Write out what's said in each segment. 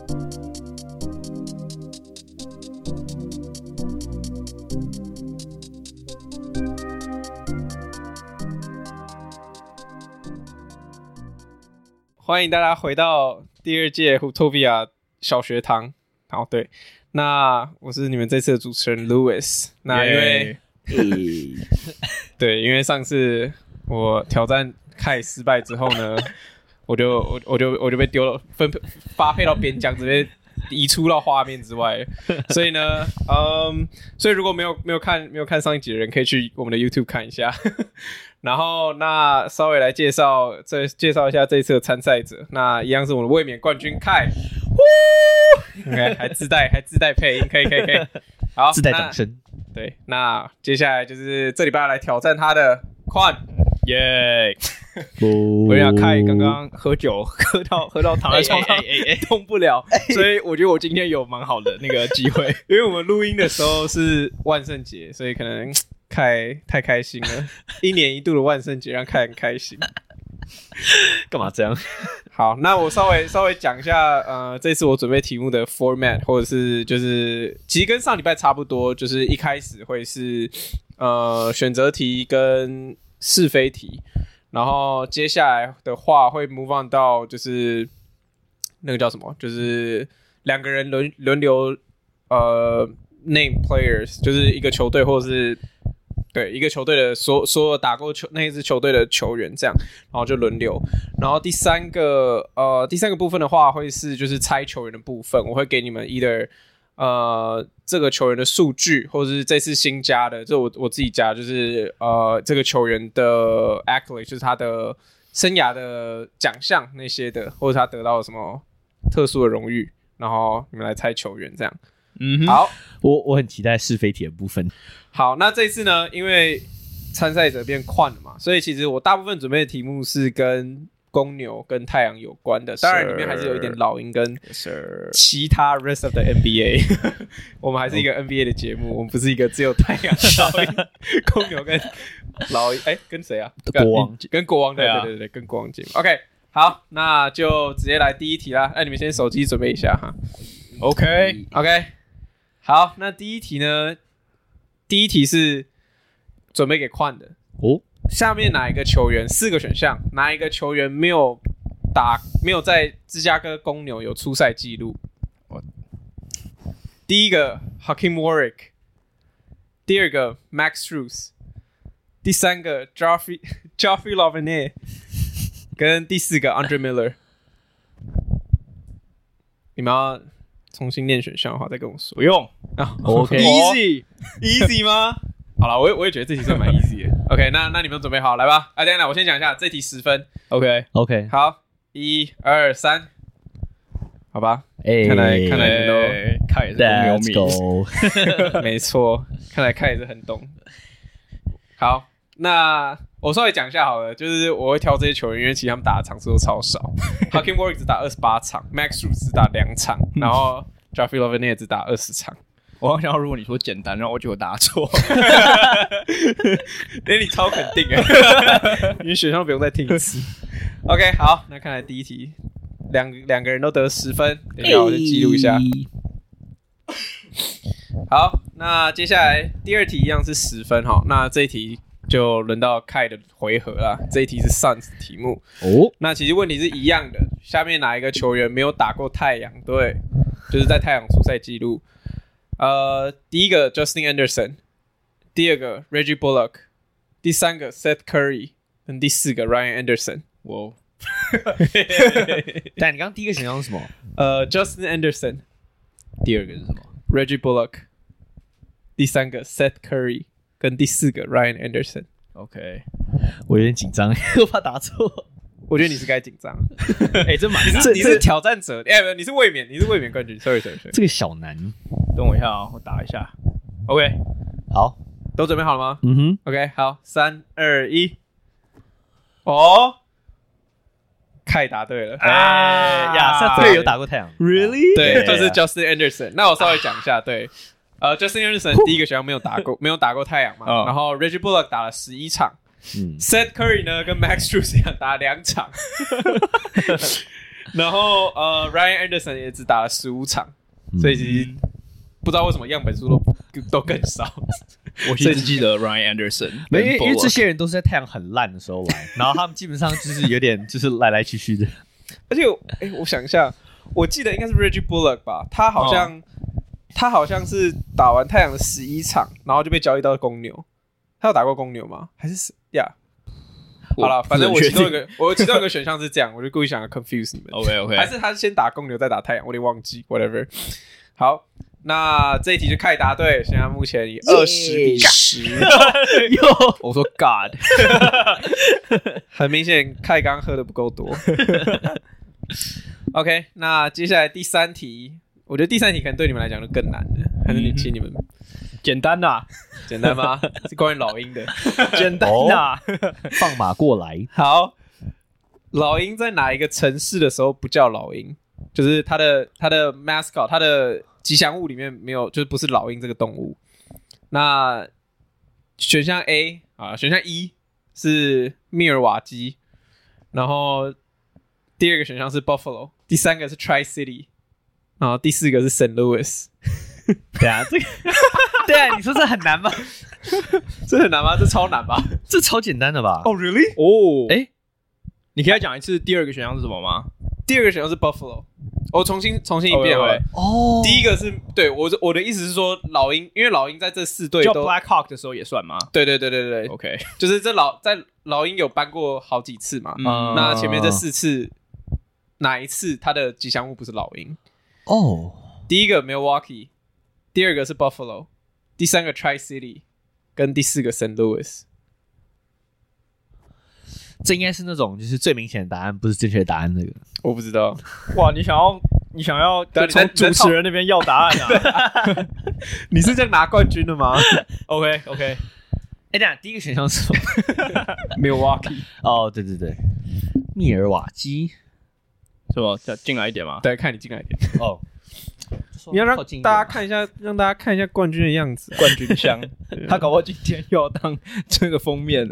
歡迎大家回到第二屆 Hooptopia 小學堂。好，對，那我是你們這次的主持人 Louis。那因為，对，因為上次我挑戰Kai失敗之後呢，我就被丟了，發配到邊疆，直接移出到畫面之外。所以呢，所以如果沒有看上一集的人，可以去我們的 YouTube 看一下。然後那稍微來介紹一下這一次的參賽者。那一樣是我們的衛冕冠軍Kai。OK， 還自帶配音，可以。好， 自带掌聲。 对，那接下來就是這禮拜來挑戰他的Quan。耶！我跟你講，Kai剛剛喝酒喝到躺在床上動不了，所以我覺得我今天有蠻好的那個機會，因為我們錄音的時候是萬聖節，所以可能Kai太開心了，一年一度的萬聖節讓Kai很開心。 幹嘛這樣？ 好，那我稍微講一下，這次我準備題目的 format， 或者是就是其實跟上禮拜差不多，就是一開始會是選擇題跟是非題，然後接下來的話會 move on 到就是那個叫什麼，就是兩個人輪流name players， 就是一個球隊或者是。對，一個球隊的所有打過那一支球隊的球員這樣，然後就輪流。然後第三個部分的話，會是就是猜球員的部分，我會給你们 either 這個球員的數據，或者是這次新加的，這我自己加，就是這個球員的 accolade， 就是他的生涯的獎項那些的，或者他得到了什麼特殊的榮譽，然後你們來猜球員這樣。好， 我很期待是非題的部分。 好，那這一次呢，因為參賽者變寬了嘛，所以其實我大部分準備的題目是跟公牛跟太陽有關的，當然裡面還是有一點老鷹跟其他 rest of the NBA。我們還是一個 NBA 的節目，我們不是一個只有太陽、老鷹、公牛跟老鷹，跟誰啊？ 國王， 跟國王的，對，跟國王節目。OK， 好，那就直接來第一題啦。你們先手機準備一下哈。OK。好，那第一題呢？第一題是準備給寬的哦。下面哪一個球員？4個選項，哪一個球員沒有在芝加哥公牛有出賽記錄？第一個 Hakeem Warrick， 第二個 Max Strus， 第三個 Joffrey Lavinier， 跟第四個 Andre Miller。你們要重新念選項的話，再跟我說。不用 ，OK， easy 嗎？好了，我也覺得這題算蠻 easy 的。OK， 那你們準備好來吧？等一下，我先講一下，這題10分。OK， 好，1、2、3，好吧？看來你們都看也是公牛迷，沒錯，看來看也是很懂。好，那我稍微講一下好了，就是我會挑這些球員，因為其實他們打的場次都超少。Hakeem Warrick 只打28場 ，Max Strus 只打2場，然後 Joffrey Lavinier 只打20場。 我好想要，如果你說簡單，然後我就答錯。 你超肯定哎，你選項不用再聽一次。OK， 好，那看來第一題兩個人都得10分，等一下我就記錄一下。好，那接下來第二題一樣是10分哈，那這一題就輪到Kai的回合啦。這一題是 Suns 的題目哦。那其實問題是一樣的，下面哪一個球員沒有打過太陽隊？就是在太陽出賽記錄。第一個 Justin Anderson， 第二個 Reggie Bullock， 第三個 Seth Curry， 跟第四個 Ryan Anderson。哇！ 但你剛剛第一個選項是什麼 ？Justin Anderson， 第二個是什麼 ？Reggie Bullock， 第三個 Seth Curry， 跟第四個 Ryan Anderson。 OK， 我有點緊張，我怕答錯。 我覺得你是該緊張。你是挑戰者，你是衛冕冠軍。Sorry。 這個小難， 等我一下啊，我打一下。OK， 好， 都準備好了嗎？ 嗯哼 ，OK， 好，3、2、1。哦，Kai答對了。 亞瑟队有打過太陽 ，Really？ 對，就是 Justin Anderson。那我稍微講一下，對，Justin Anderson 第一個學校沒有打過太陽嘛，然後 Reggie Bullock 打了11場。Seth Curry 呢跟 Max Strus 一樣打2場。 然後Ryan Anderson 也只打了15場，所以其實不知道為什麼樣本數都更少。 我只記得 Ryan Anderson， 因為這些人都是在太陽很爛的時候玩，然後他們基本上就是有點就是來來去去的。 而且我想一下，我記得應該是 Reggie Bullock 吧，他好像是打完太陽的11場，然後就被交易到公牛。他有打過公牛嗎？還是呀？好了，反正我其中一個選項是這樣，我就故意想要 confuse 你们。 OK， 還是他先打公牛再打太陽，我有點忘記 ，whatever。好。那這一題就凱答對，現在目前以20-10。 我說 God， 很明顯凱剛喝的不夠多。OK， 那接下來第3題，我覺得第3題可能對你們來講就更難了，還是請你們簡單吶？ 簡單嗎？是關於老鷹的， 簡單吶。 放馬過來。 好，老鷹在哪一個城市的時候不叫老鷹？就是它的 mascot， 它的吉祥物裡面沒有，就是不是老鷹這個動物。那選項 A 啊，選項1是密爾瓦基，然後第2個選項是 Buffalo， 第3個是 Tri-City， 然後第4個是 St. Louis。 對啊，這個對啊，你說這很難嗎？ 這很難嗎？這超難吧？ 這超簡單的吧？ 哦 ，really？ 哦， 你可以再講一次第2個選項是什麼嗎？ 第2個選項是 Buffalo。我重新一遍好了。 哦， 第一個是對我的意思是說老鷹，因為老鷹在這4隊都叫 Black Hawk 的時候也算嗎？ 對。 OK， 就是在老鷹有搬過好幾次嘛。那前面這4次哪一次它的吉祥物不是老鷹？ 哦， 第一個 Milwaukee， 第2個是 Buffalo， 第3個 Tri-City， 跟第4個 St. Louis。 這應該是那種就是最明顯的答案，不是正確的答案。那個我不知道。 哇，你想要從主持人那邊要答案啊？ 你是这樣拿冠軍的嗎 ？OK， 等一下第一個選項是什麼 ？Milwaukee。 哦，對，密爾瓦基， 什麼？進來一點嗎？ 對，看你進來一點。 哦， 你要讓大家看一下，冠軍的樣子， 冠軍相。他搞不好今天又要當這個封面了。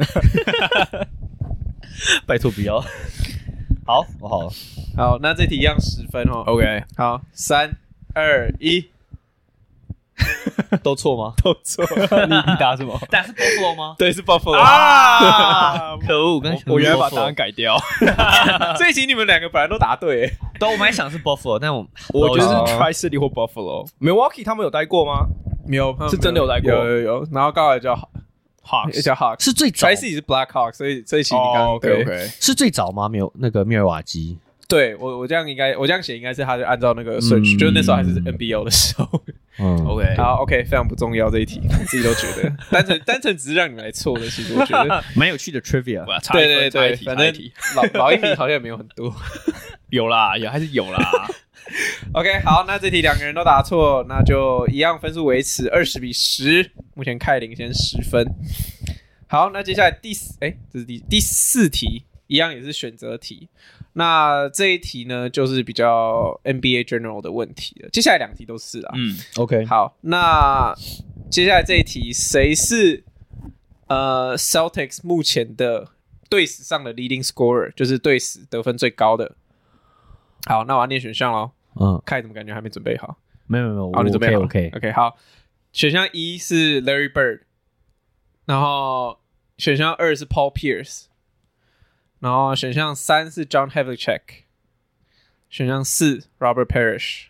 拜託不要。好，我好了。 好，那這題一樣10分哦。 OK， 好，3、2、1， 都錯嗎？ 都錯。 你答什麼？ 答是 Buffalo 嗎？ 對，是 Buffalo 啊！ 可惡， 我原來把答案改掉。 這一題你們2個本來都答對， 對，我本來想是 Buffalo， 但我覺得是 Tri-City 或 Buffalo。Milwaukee 他們有待過嗎？ 沒有， 是真的有待過。 有，然後剛好叫 Hawks， 叫 Hawks， 是最早。Tri-City 是 Black Hawks， 所以這一期你剛 OK 是最早嗎？没有那個密爾瓦基。 對我這樣寫應該是他就按照那個順序，就是那時候還是 NBL 的時候。 OK， 好 OK， 非常不重要這一題，我自己都覺得单純只是讓你們來錯的，其實我覺得蠻有趣的 trivia。 對，反正老鷹迷好像也沒有很多， 有啦，也還是有啦。 OK， 好，那這題2個人都答錯，那就一樣分數維持20-10，目前凱領先10分。好，那接下來這是第4題，一樣也是選擇題。那這一題呢，就是比較 NBA General 的問題了。接下來2題都是啦。 OK。 好，那接下來這一題，誰是Celtics 目前的隊史上的 leading scorer， 就是隊史得分最高的？好，那我要念選項咯。凱怎麼感覺還沒準備好？ 沒有， 好，你準備好 OK， 好。選項1是 Larry Bird， 然後選項2是 Paul Pierce。然後選項3是 John Havlicek， 選項4 Robert Parrish。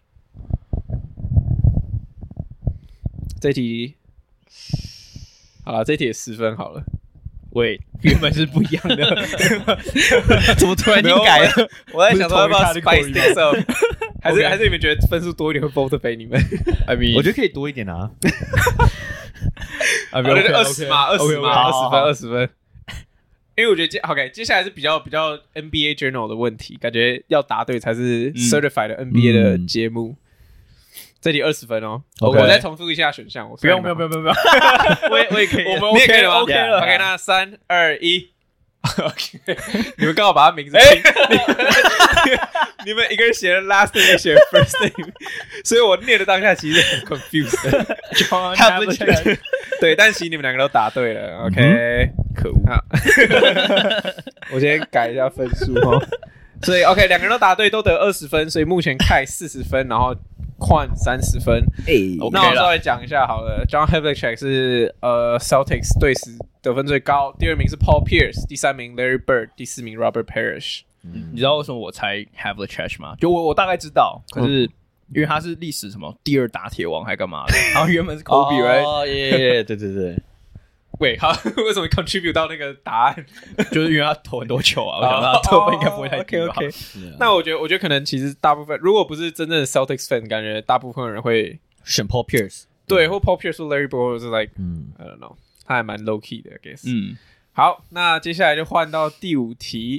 這題好了，這題也10分好了。 喂，原本是不一樣的， 怎麼突然間改了？ 我在想說要不要 spice things up， 還是你們覺得分數多一點會 motivate 你們 ？I mean， 我覺得可以多一點啊。 我覺得20嘛，20分。因為我覺得接下來是比較 NBA Journal 的問題，感覺要答對才是 Certified 的 NBA 的節目。這題20分哦。我再重複一下選項。 不用，我也可以， 你也可以了嗎 ？OK 了。 OK， 那3、2、1。OK， 你們剛好把他名字你們一個人寫了 last name， 一個寫了 first name， 所以我念的當下其實很 confused。 John Havlicek， 對，但其實你們2個都答對了。OK， 可惡。我先改一下分數哦。 所以 OK， 兩個人都答對，都得20分，所以目前Kai 40分，然後Quan 30分。那我稍微講一下好了 ，John Havlicek 是Celtics 队史得分最高，第2名是 Paul Pierce， 第3名 Larry Bird， 第4名 Robert Parrish。 你知道為什麼我猜 Havlicek 嗎？就我大概知道，可是因為他是歷史什麼第2打鐵王還幹嘛的，然後原本是 Kobe， 哦耶，對对对。 喂，好，為什麼 contribute 到那個答案？ 就是因為他投很多球啊，我想他得分應該不會太低吧。 OK， 那我覺得可能其實大部分，如果不是真正的 Celtics fan， 感覺大部分人會選 Paul Pierce， 對， 或 Paul Pierce 或 Larry Bird， 或是 like，I don't know， 他還蠻 low key 的 ，I guess。好，那接下來就換到第5題。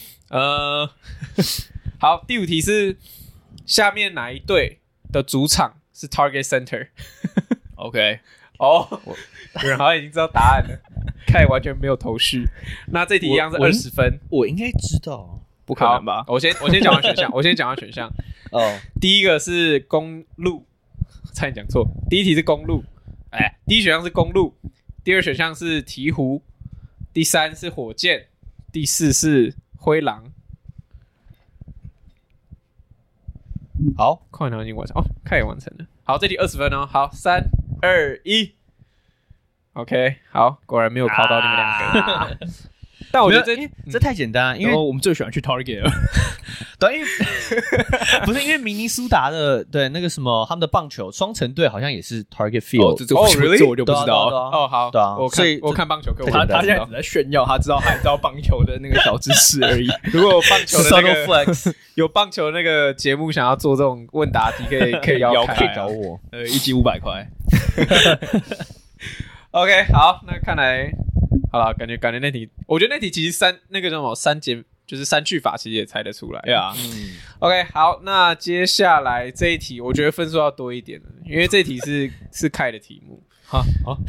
好，第5題是下面哪一隊的主場是 Target Center？OK。有人好像已經知道答案了，Kai完全沒有頭緒。那這題一樣是20分， 我應該知道， 不可能吧？ 我先講完選項。第一個是公路，差點講錯。第一題是公路，第一選項是公路，第二選項是鹈鶘，第3是火箭，第4是灰狼。好，快点已經完成Kai也完成了。好，這題20分哦。好，3、2、1。OK， 好，果然沒有考到你們兩個。但我覺得這太簡單了，因為我們最喜歡去 Target 了。 对，因为不是因为明尼蘇達的对那個什麼他們的棒球雙城隊好像也是 Target Field。 這我就不知道。 好， 對啊， 我看棒球課， 他現在只在炫耀，他知道棒球的那個小知識而已。 如果有棒球的那個有棒球那個節目想要做這種問答題，可以邀Kai， 可以找我。 一集500塊。 OK， 好，那看來好了，感覺那題，我覺得那題其實那個叫什麼就是刪去法，其實也猜得出來。 對啊 ，OK， 好，那接下來這一題，我覺得分數要多一點了，因為這一題是Kai的題目。好，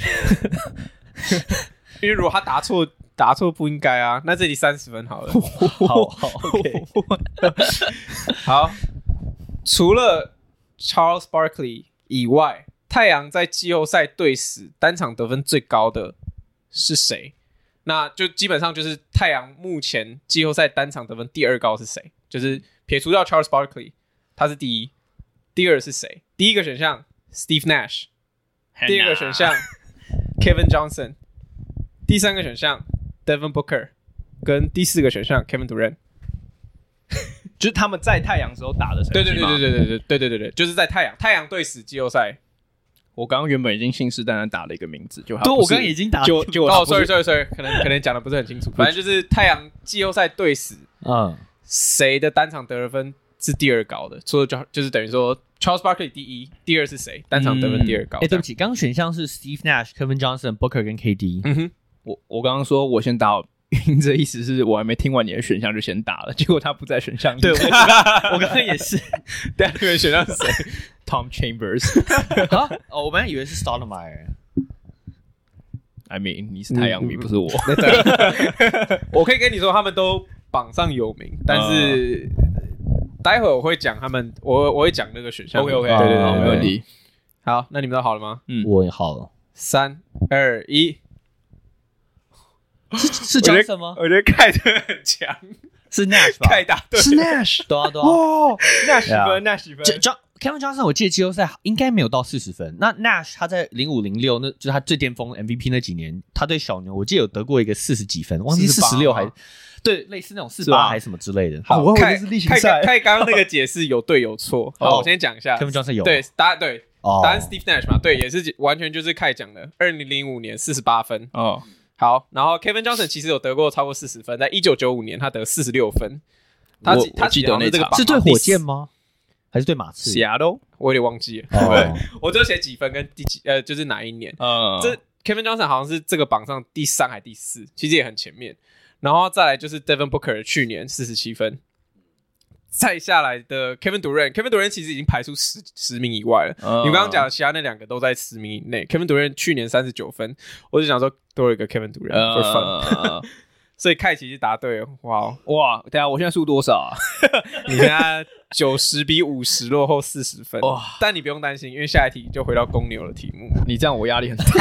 因為如果他答錯不應該啊，那這題30分好了。 好 ，OK， 好，除了 Charles Barkley 以外。太陽在季後賽隊史單場得分最高的是誰？那就基本上就是太陽目前季後賽單場得分第2高是誰？就是撇除掉 Charles Barkley， 他是第1，第2是誰？第一個選項 Steve Nash， 第二個選項 Kevin Johnson， 第3個選項 Devin Booker， 跟第4個選項 Kevin Durant。 就是他們在太陽時候打的成績嗎？ 對，就是在太陽隊史季後賽。 我剛剛原本已經信誓旦旦打了一個名字，就我剛剛已經打了， sorry， 可能講的不是很清楚。反正就是太陽季後賽隊史，誰的單場得分是第2高的？除了就是等於說 Charles Barkley 第1，第2是誰？單場得分第2高。 對不起，剛剛選項是 Steve Nash、Kevin Johnson、Booker 跟 KD。 我剛剛說我先打，這意思是我還沒聽完你的選項就先打了，結果他不在選項裡。 對，我剛剛也是。 對啊，你們選項是誰 ？Tom Chambers。 我本來以為是 Stoudemire。I mean， 你是太陽迷，不是我。 我可以跟你說，他們都榜上有名，但是待會我會講他們，我會講那個選項。 OK， 對， 沒問題。 好，那你們都好了嗎？ 我也好了。 3、2、1。 是 Johnson 嗎？ 我覺得Kai真的很強， 是 Nash 吧 ？Kai答對， 是 Nash， 對啊。 Nash 分。 Kevin Johnson 我記得季後賽應該沒有到40分。那 Nash 他在05、06，那就是他最巔峰 MVP 那幾年，他對小牛我記得有得過一個40幾分，忘記46還對，類似那種48還是什麼之類的。 好，Kai剛剛那個解釋有對有錯。好，我先講一下 ，Kevin Johnson 有對答案對，答案 Steve Nash 嘛，對，也是完全就是 Kai 講的，2005年48分。好，然後 Kevin Johnson 其實有得過超過40分，在1995年他得46分。他記得那場是對火箭嗎？還是對馬刺 ？Seattle， 我有點忘記了。對，我就寫幾分跟第幾就是哪一年。這 Kevin Johnson 好像是這個榜上第3還第4，其實也很前面。然後再來就是 Devin Booker 去年47分，再下來的 Kevin Durant 其實已經排出10名以外了。你剛剛講的其他那2個都在10名以內。Kevin Durant 去年39分，我就想說多了一個 Kevin Durant for fun。所以Kai其實答對了。哇， 等一下我現在輸多少啊？ 你現在90比50落後40分。哇！但你不用擔心，因為下一題就回到公牛的題目。 你這樣我壓力很大。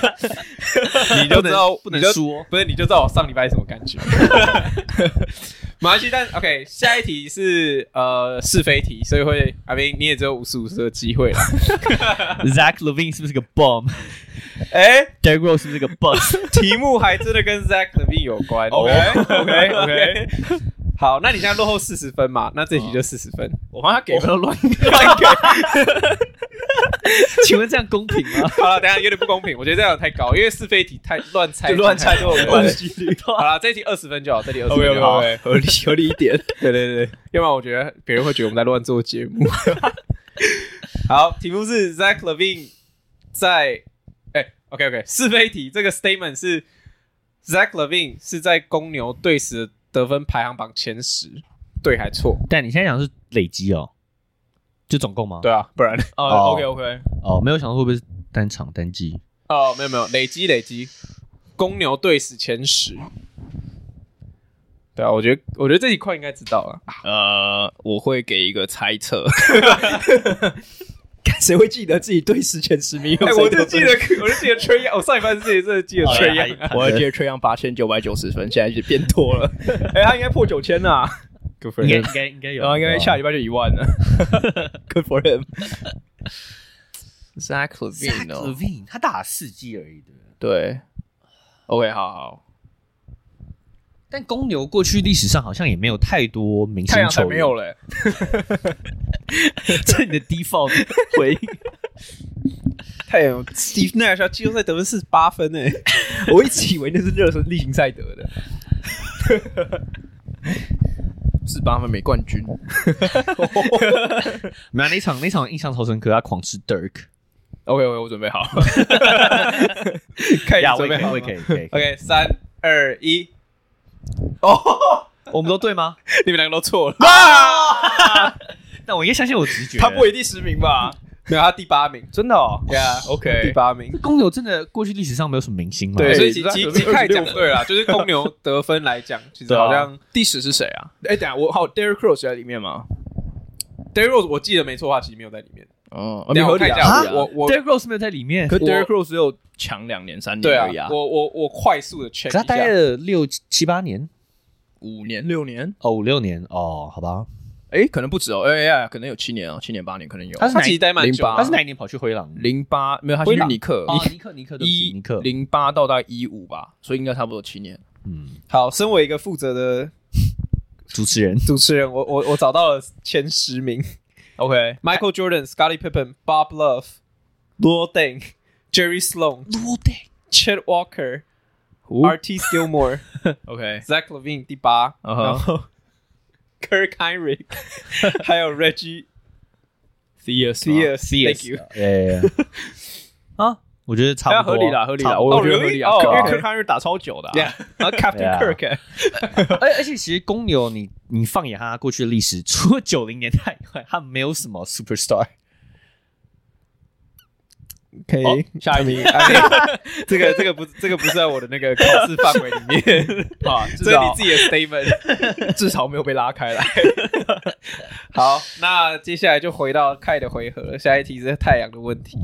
你就知道不能輸， 不是你就知道我上禮拜是什麼感覺。 沒關係，但 OK， 下一題是是非題，所以會 I mean 你也只有50-50的機會了。 Zach LaVine 是不是個 bomb？ Derrick Rose 是不是個 bust？ 題目還真的跟 Zach LaVine 有關。OK， 好，那你現在落後40分嘛？那這題就40分。 我怕他給分都亂給。 請問這樣公平嗎？ 好了，等一下有點不公平，我覺得這樣太高，因為是非題太亂猜， 亂猜都有關係。 好了，這題20分就好，這題20分就好， 合理一點。 對，要不然我覺得別人會覺得我們在亂做節目。好，題目是 Zach LaVine 在OK， 是非題，這個 statement 是 Zach LaVine 是在公牛隊史的得分排行榜前10，對還錯？ 但你現在講的是累積哦，就總共嗎？ 對啊，不然 OK 沒有想到會不會是單場單季？ 沒有，累積，公牛隊史前10。对啊，我覺得這題快應該知道了。 我會給一個猜測。誰會記得自己隊史前10名？ 我就記得 Trae Young， 我上一班是真的記得 Trae Young， 我記得 Trae Young 8990分，現在就變多了。他應該破9000啊， 應該有， 然後應該下禮拜就10000了。Good for him。Zach LaVine， 他打了4季而已， 对。OK， 好。 但公牛過去歷史上好像也沒有太多明星球員， 太陽才沒有嘞。 這是你的 default 回應。 太陽 Steve Nash 季後賽得分48分誒， 我一直以為那是熱身例行賽得的。48分沒冠軍。 沒有，那場印象超深刻，他狂吃 Dirk。OK， 我準備好。 可以準備好，可以。 OK， 3、2、1。 我們都對嗎？ 你們兩個都錯了。 但我應該相信我直覺。 他不會第10名吧？ 沒有，他第8名。 真的哦。 OK， 第8名。 公牛真的過去歷史上沒有什麼明星嘛？ 對，所以其實講對了，就是公牛得分來講，其實好像第10是誰啊？等一下我好 Derrick Rose 在裡面嗎 ？Derrick Rose 我記得沒錯的話，其實沒有在裡面。 你我看一下， 我 Derrick Rose 沒有在裡面， 可 Derrick Rose 只有強2年3年而已啊。 我快速的 check 一下， 他待了6、7、8年 ，5年6年 ，5、6年好吧。 可能不止可能有7年7年8年可能有。 他其實待蠻久， 他是哪一年跑去灰狼 ？08没有，他去尼克。 尼克 08到大概15吧，所以應該差不多7年。 好，身為一個負責的主持人， 我找到了前10名。OK，Michael Jordan、Scottie Pippen、Bob Love、Luol Deng、Jerry Sloan、Chet Walker、Artis Gilmore、Zach LaVine 第8，然後 Kirk Hinrich， 還有 Reggie Theus，Thank you。 我覺得差不多， 合理啦，我覺得合理啊，因為 Kirk Hinrich 打超久的， 然後 Captain Kirk， 而且其實公牛你放眼他過去的歷史，除了90年代以外，他沒有什麼 superstar。 可以，下一名。這個不是在我的那個考試範圍裡面啊，這是你自己的 statement， 至少沒有被拉開來。 好，那接下來就回到Kai的回合了。下一題是太陽的問題。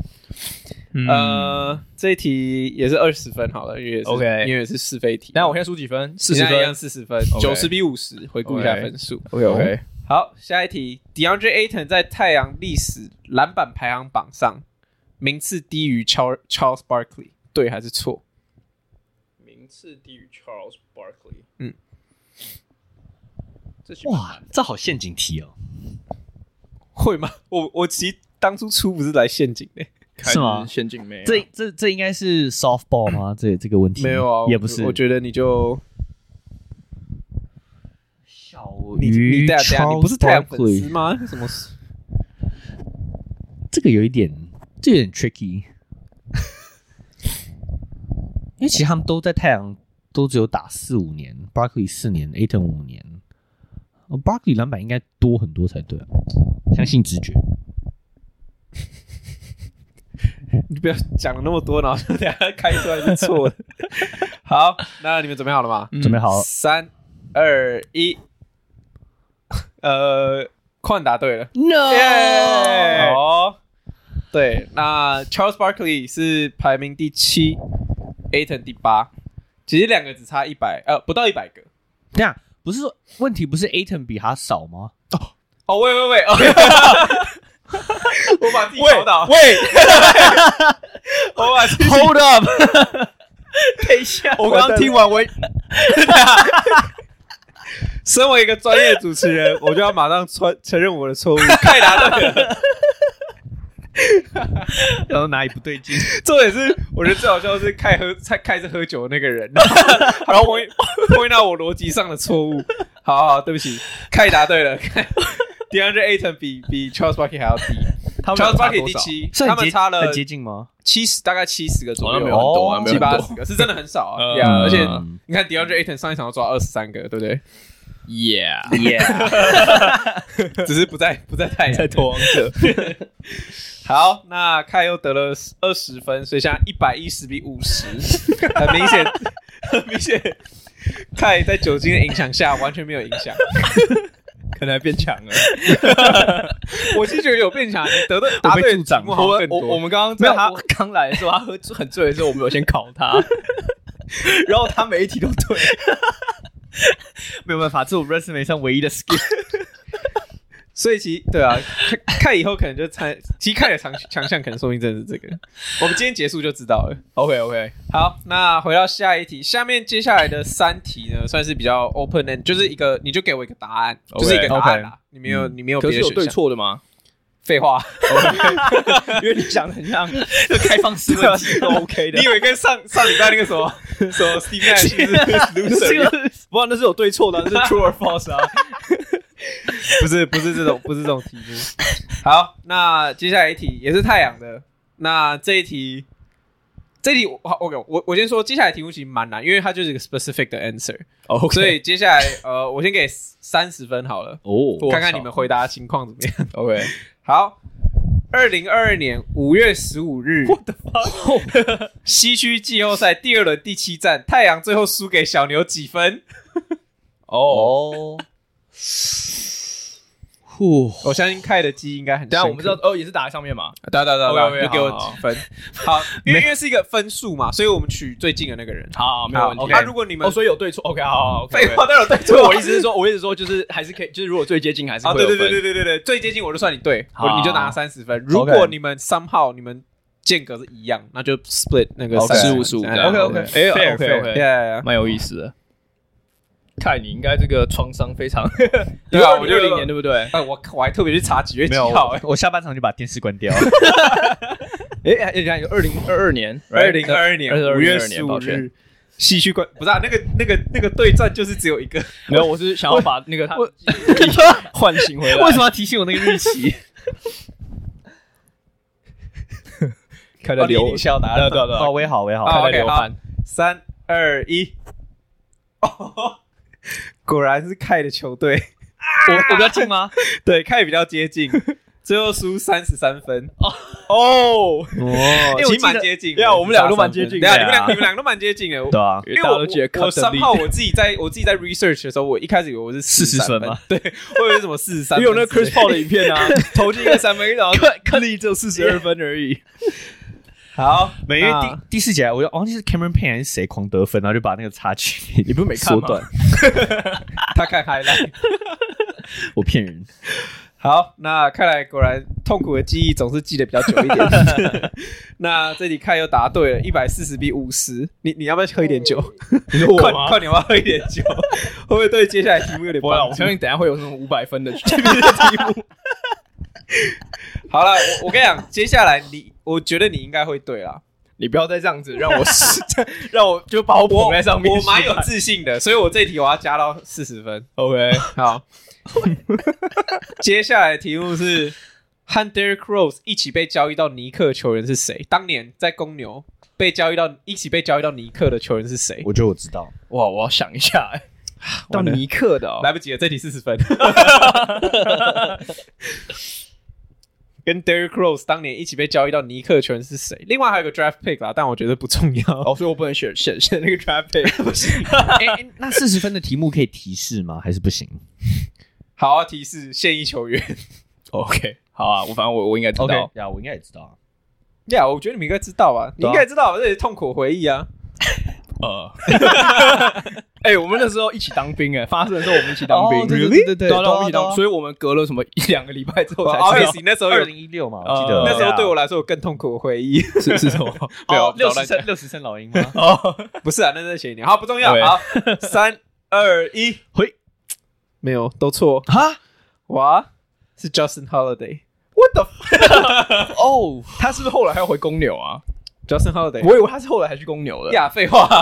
這一題也是20分好了，因為是是非題。 那我現在輸幾分？40分， 40分，90比50，回顧一下分數。 OK， 好，下一題 ，DeAndre Ayton 在太陽歷史籃板排行榜上名次低於 Charles Barkley， 對還是錯？ 名次低於 Charles Barkley， 哇，這好陷阱題哦。 會嗎？我其實當初出不是來陷阱的。 是嗎？ 陷阱妹， 這應該是 softball 嗎？這個問題沒有啊， 也不是。 我覺得你就小於你不是太陽粉絲嗎？什麼？ 這有點 tricky， 因為其實他們都在太陽都只有打4-5年 ，Barkley 4年 ，Ayton 5年，Barkley 籃板應該多很多才對啊，相信直觉。 你不要講了那麼多，然後等一下開出來是錯的。好，那你們準備好了嗎？ 準備好了。 3、2、1。寬答對了。 No。 好。對，那 Charles Barkley 是排名第7，Ayton 第8。其實兩個只差100，不到100個。 這樣不是說問題不是 Ayton 比他少嗎？ 哦，喂，我把自己搞倒。 喂， 我把自己 Hold up， 等一下，我刚刚听完身為一個專業主持人，我就要馬上承認我的錯誤。太答對了。 然後哪裡不對勁？ 重點是，我覺得最好笑的是開始喝酒的那個人，然後point到我邏輯上的錯誤。好，對不起，凱答對了。DeAndre Ayton 比 Charles Barkley 還要低，Charles Barkley 第7，他們差了很接近嗎 ？70，大概70個左右， 没有很多啊，没有很多 70-80個，是真的很少啊。而且你看 DeAndre Ayton 上一場要抓23個，對不对 ？Yeah， 只是不在太陽， 在投王者。 好，那凱又得了20分，所以现在110-50，很明顯，凱在酒精的影響下完全沒有影響， 可能還變強了。 我是覺得有變強，你答對的題目好像更多。 我們剛剛在他剛來的時候，他喝很醉的時候，我們有先考他，然後他每一題都对， 没有辦法，这我 resume 上唯一的 skill。 所以對啊，看以後可能就其實看的強項可能說明真的是這個。我們今天結束就知道了。 OK， 好，那回到下一題，下面接下來的3題呢，算是比較 open end， 就是你就給我一個答案，就是一個答案啦。你沒有別的選項。 可是有對錯的嗎？ 廢話， 因為你講的很像就開放式問題都 OK 的。 你以為跟上禮拜那個什麼 Steve Nash 是 loser？ 不然那是有對錯的，那是 true or false 啊。 不是這種題目。好，那接下來一題也是太陽的。那這一題我先說，接下來的題目其實蠻難，因為它就是一個 specific 的 answer。所以接下來我先給30分好了。看看你們回答的情況怎麼樣。 OK， 好。2022年5月15日，西區季後賽第2輪第7戰，太陽最後輸給小牛幾分？我相信凱的記憶應該很深刻。 等一下我們知道也是打在上面嘛。 對，就給我幾分。好，因為是一個分數嘛，所以我們取最近的那個人。 好，沒有問題。 那如果你們所以有对錯 ，OK， 好。 廢話，當然有對錯。 我意思是說，就是還是可以，就是如果最接近還是會有分。 對，最接近我就算你对，你就拿30分。如果你們somehow你們間隔是一樣，那就 split 那個15-15。 OK， fair， 蠻有意思的。看你應該這個創傷非常， 對啊， 我60年對不對？ 我還特別去查幾月幾號， 我下半場就把電視關掉。 你看有2022年 ，2022年5月15日，西區關不是啊？那個對戰就是只有一個， 沒有，我是想要把那個他喚醒回來。 為什麼要提醒我那個日期？ 看到流小答案， 對，我也好， 看流汗。 3、2、1，果然是凱的球隊。 我比較近嗎？ 對，凱比較接近，最後輸33分。其實蠻接近的。 對啊，我們兩個都蠻接近的。 對啊，你們兩個都蠻接近的。 對啊， 因為我3號我自己在 research 的時候，我一開始以為我是40分嘛，對，我以為什麼43分， 因為有那個 Chris Paul 的影片啊，投進一個3分，然後克利只有42分而已。 好， 因為第4節我忘記是 Cameron Payne 還是誰狂得分，然後就把那個差距， 你不是沒看嗎？ 他看 highlight， 我騙人。 好，那看來果然痛苦的記憶總是記得比較久一點。那這裡凱又答對了，140-50。你要不要喝一點酒？ 你說我嗎？ 快點，要不要喝一點酒？會不會對接下來題目有點幫助？ 我相信等一下會有那種500分的題目。 好了，我跟你講，接下來我覺得你應該會對啦。 你不要再這樣子讓我就把我捧在上面。 我蠻有自信的，所以我這一題我要加到40分。 OK， 好。接下來的題目是和 Derrick Rose 一起被交易到尼克的球員是誰？當年在公牛一起被交易到尼克的球員是誰？ 我覺得我知道。 哇，我要想一下。到尼克的來不及了，這題40分。跟 Derrick Rose 當年一起被交易到尼克的球員是誰？另外還有個 draft pick 啦，但我覺得不重要。 所以我不能選那個 draft pick。不行。 那40分的題目可以提示嗎？還是不行？ 好啊，提示現役球員。 OK， 好啊，反正我應該知道。 呀，我應該也知道。 呀，我覺得你們應該知道啊，你應該知道，這是痛苦回憶啊。 我們那時候一起當兵發生的時候我們一起當兵， 對， 對，我們一起當，所以我們隔了什麼1-2個禮拜之後才知道。 那時候有 2016嘛，我記得那時候对我来說有更痛苦的回憶是什麼 ？60声老鹰嗎？ 不是啊，那是前一年。好，不重要。好，3、2、1，回。沒有，都錯。 哈， 哇，是 Justin Holiday。What the fuck？ 哦，他是不是後來還要回公牛啊 ？Justin Holiday， 我以為他是后来還去公牛的。 呀，廢話。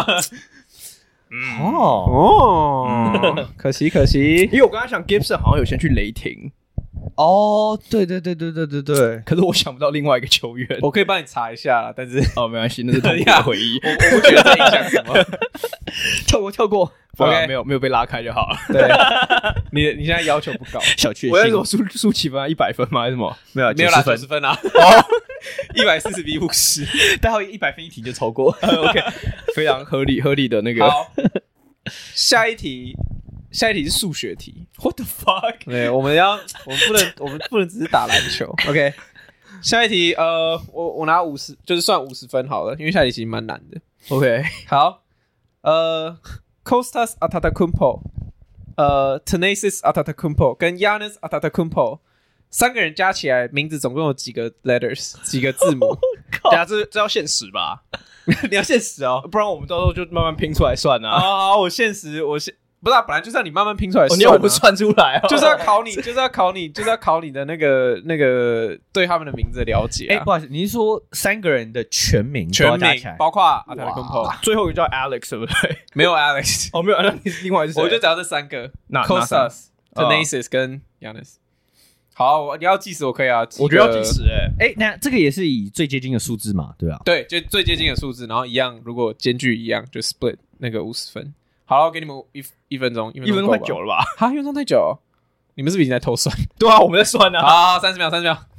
可惜，因為我剛才想 Gibson 好像有先去雷霆。 對， 可是我想不到另外一個球員， 我可以幫你查一下，但是沒關係，那是痛苦的回憶。 我不覺得這影響什麼， 跳過。 OK， 沒有被拉開就好了。 對，你現在要求不高， 小確幸。 我那时候輸幾分啊？100分嗎？還是什麼？ 沒有啦，90分啊。140比50， 待會100分一題就超過。 OK， 非常合理的那個。 好，下一題是數學題。 What the fuck？ 對，我們不能只是打籃球。OK， 下一題我拿50，就是算50分好了，因為下一題其實蠻難的。 OK， 好，Kostas Antetokounmpo、Thanasis Antetokounmpo 跟 Giannis Antetokounmpo 3個人加起來名字總共有幾個 letters， 幾個字母？ 這要限時吧？ 你要限時哦， 不然我們到時候就慢慢拼出來算啊。 好，我限时，不是本來就是要你慢慢拼出來算， 你要我们算出來， 就是要考你的那个對他們的名字的了解。 不好意思，你是說3個人的全名包括 Antetokounmpo， 最後一個叫 Alex 對不對？ 沒有 Alex， 沒有 Alex， 另外是誰？ 我就只要這3個 ，Kostas、Thanasis 跟 Giannis。好，你要計時我可以啊， 我覺得要計時那這個也是以最接近的數字嘛，對吧？ 對，就最接近的數字，然後一樣，如果間距一樣，就 split 那個50分。好了，我給你們一分鐘，1分鐘太久了吧？ 哈，1分鐘太久，你們是不是已經在偷算？ 對啊，我們在算啊。 好，30秒。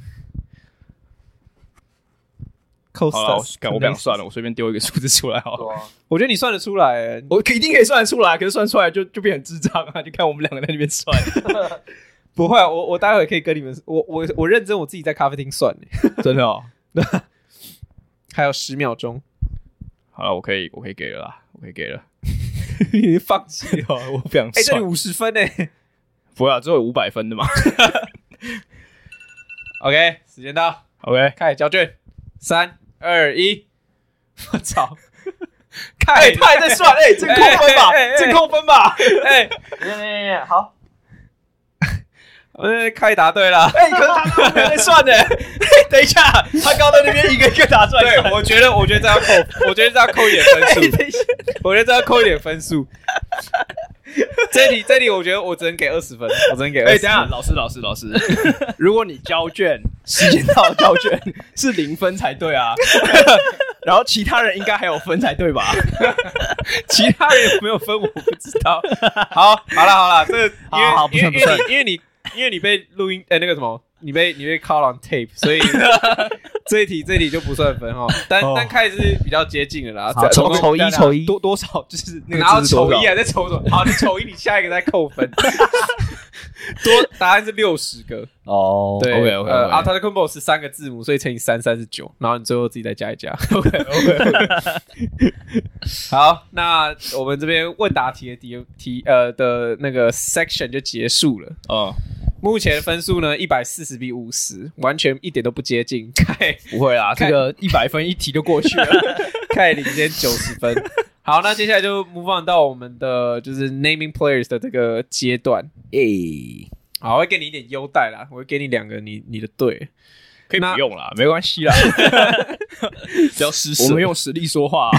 好了，我不想算了，我隨便丟一個數字出來好了。 我覺得你算得出來， 我一定可以算得出來，可是算出來就變很智障啊！就看我們兩個在那邊算。 不會，我待會可以跟你們，我認真，我自己在咖啡廳算， 真的哦。 還有10秒鐘。 好了，我可以給了啦，我可以給了。 你已經放棄了， 我不想算。 這裡50分欸。 不會啊，只有500分的嘛。 OK， 時間到。 OK， 開始交卷。3、2、1。我操！ 他還在算，這扣分吧，這扣分吧。 好。 開答對了， 可是他剛才在算呢。等一下，他剛在那邊一個一個打出來。 對，我覺得這要扣，我覺得這要扣一點分數。我覺得這要扣一點分數。這題，我覺得我只能給20分，我只能給20分。 等一下，老師，如果你交卷時間到交卷是0分才對啊。然後其他人應該還有分才對吧？ 其他人有沒有分我不知道。好了，這個好不算， 因為你被錄音那個什麼，你被 call on tape， 所以這一題就不算分哈。但開始是比較接近的啦。 丑一多少就是那個然後丑一還在丑什麼？好，你丑一，你下一個再扣分。答案是60個哦。對 ，OK， Antetokounmpo 是3個字母，所以乘以3 39，然後你最後自己再加一加。OK。好，那我們這邊問答題的那個 section 就結束了。目前分數呢140比50，完全一點都不接近。 不會啦，這個100分一題就過去了， 開領先90分。好，那接下來就 move on 到我們的就是 naming players 的這個階段。好，我會給你一點優待啦，我會給你2個你的隊。 可以不用啦，沒關係啦。 只要施捨， 我們用實力說話。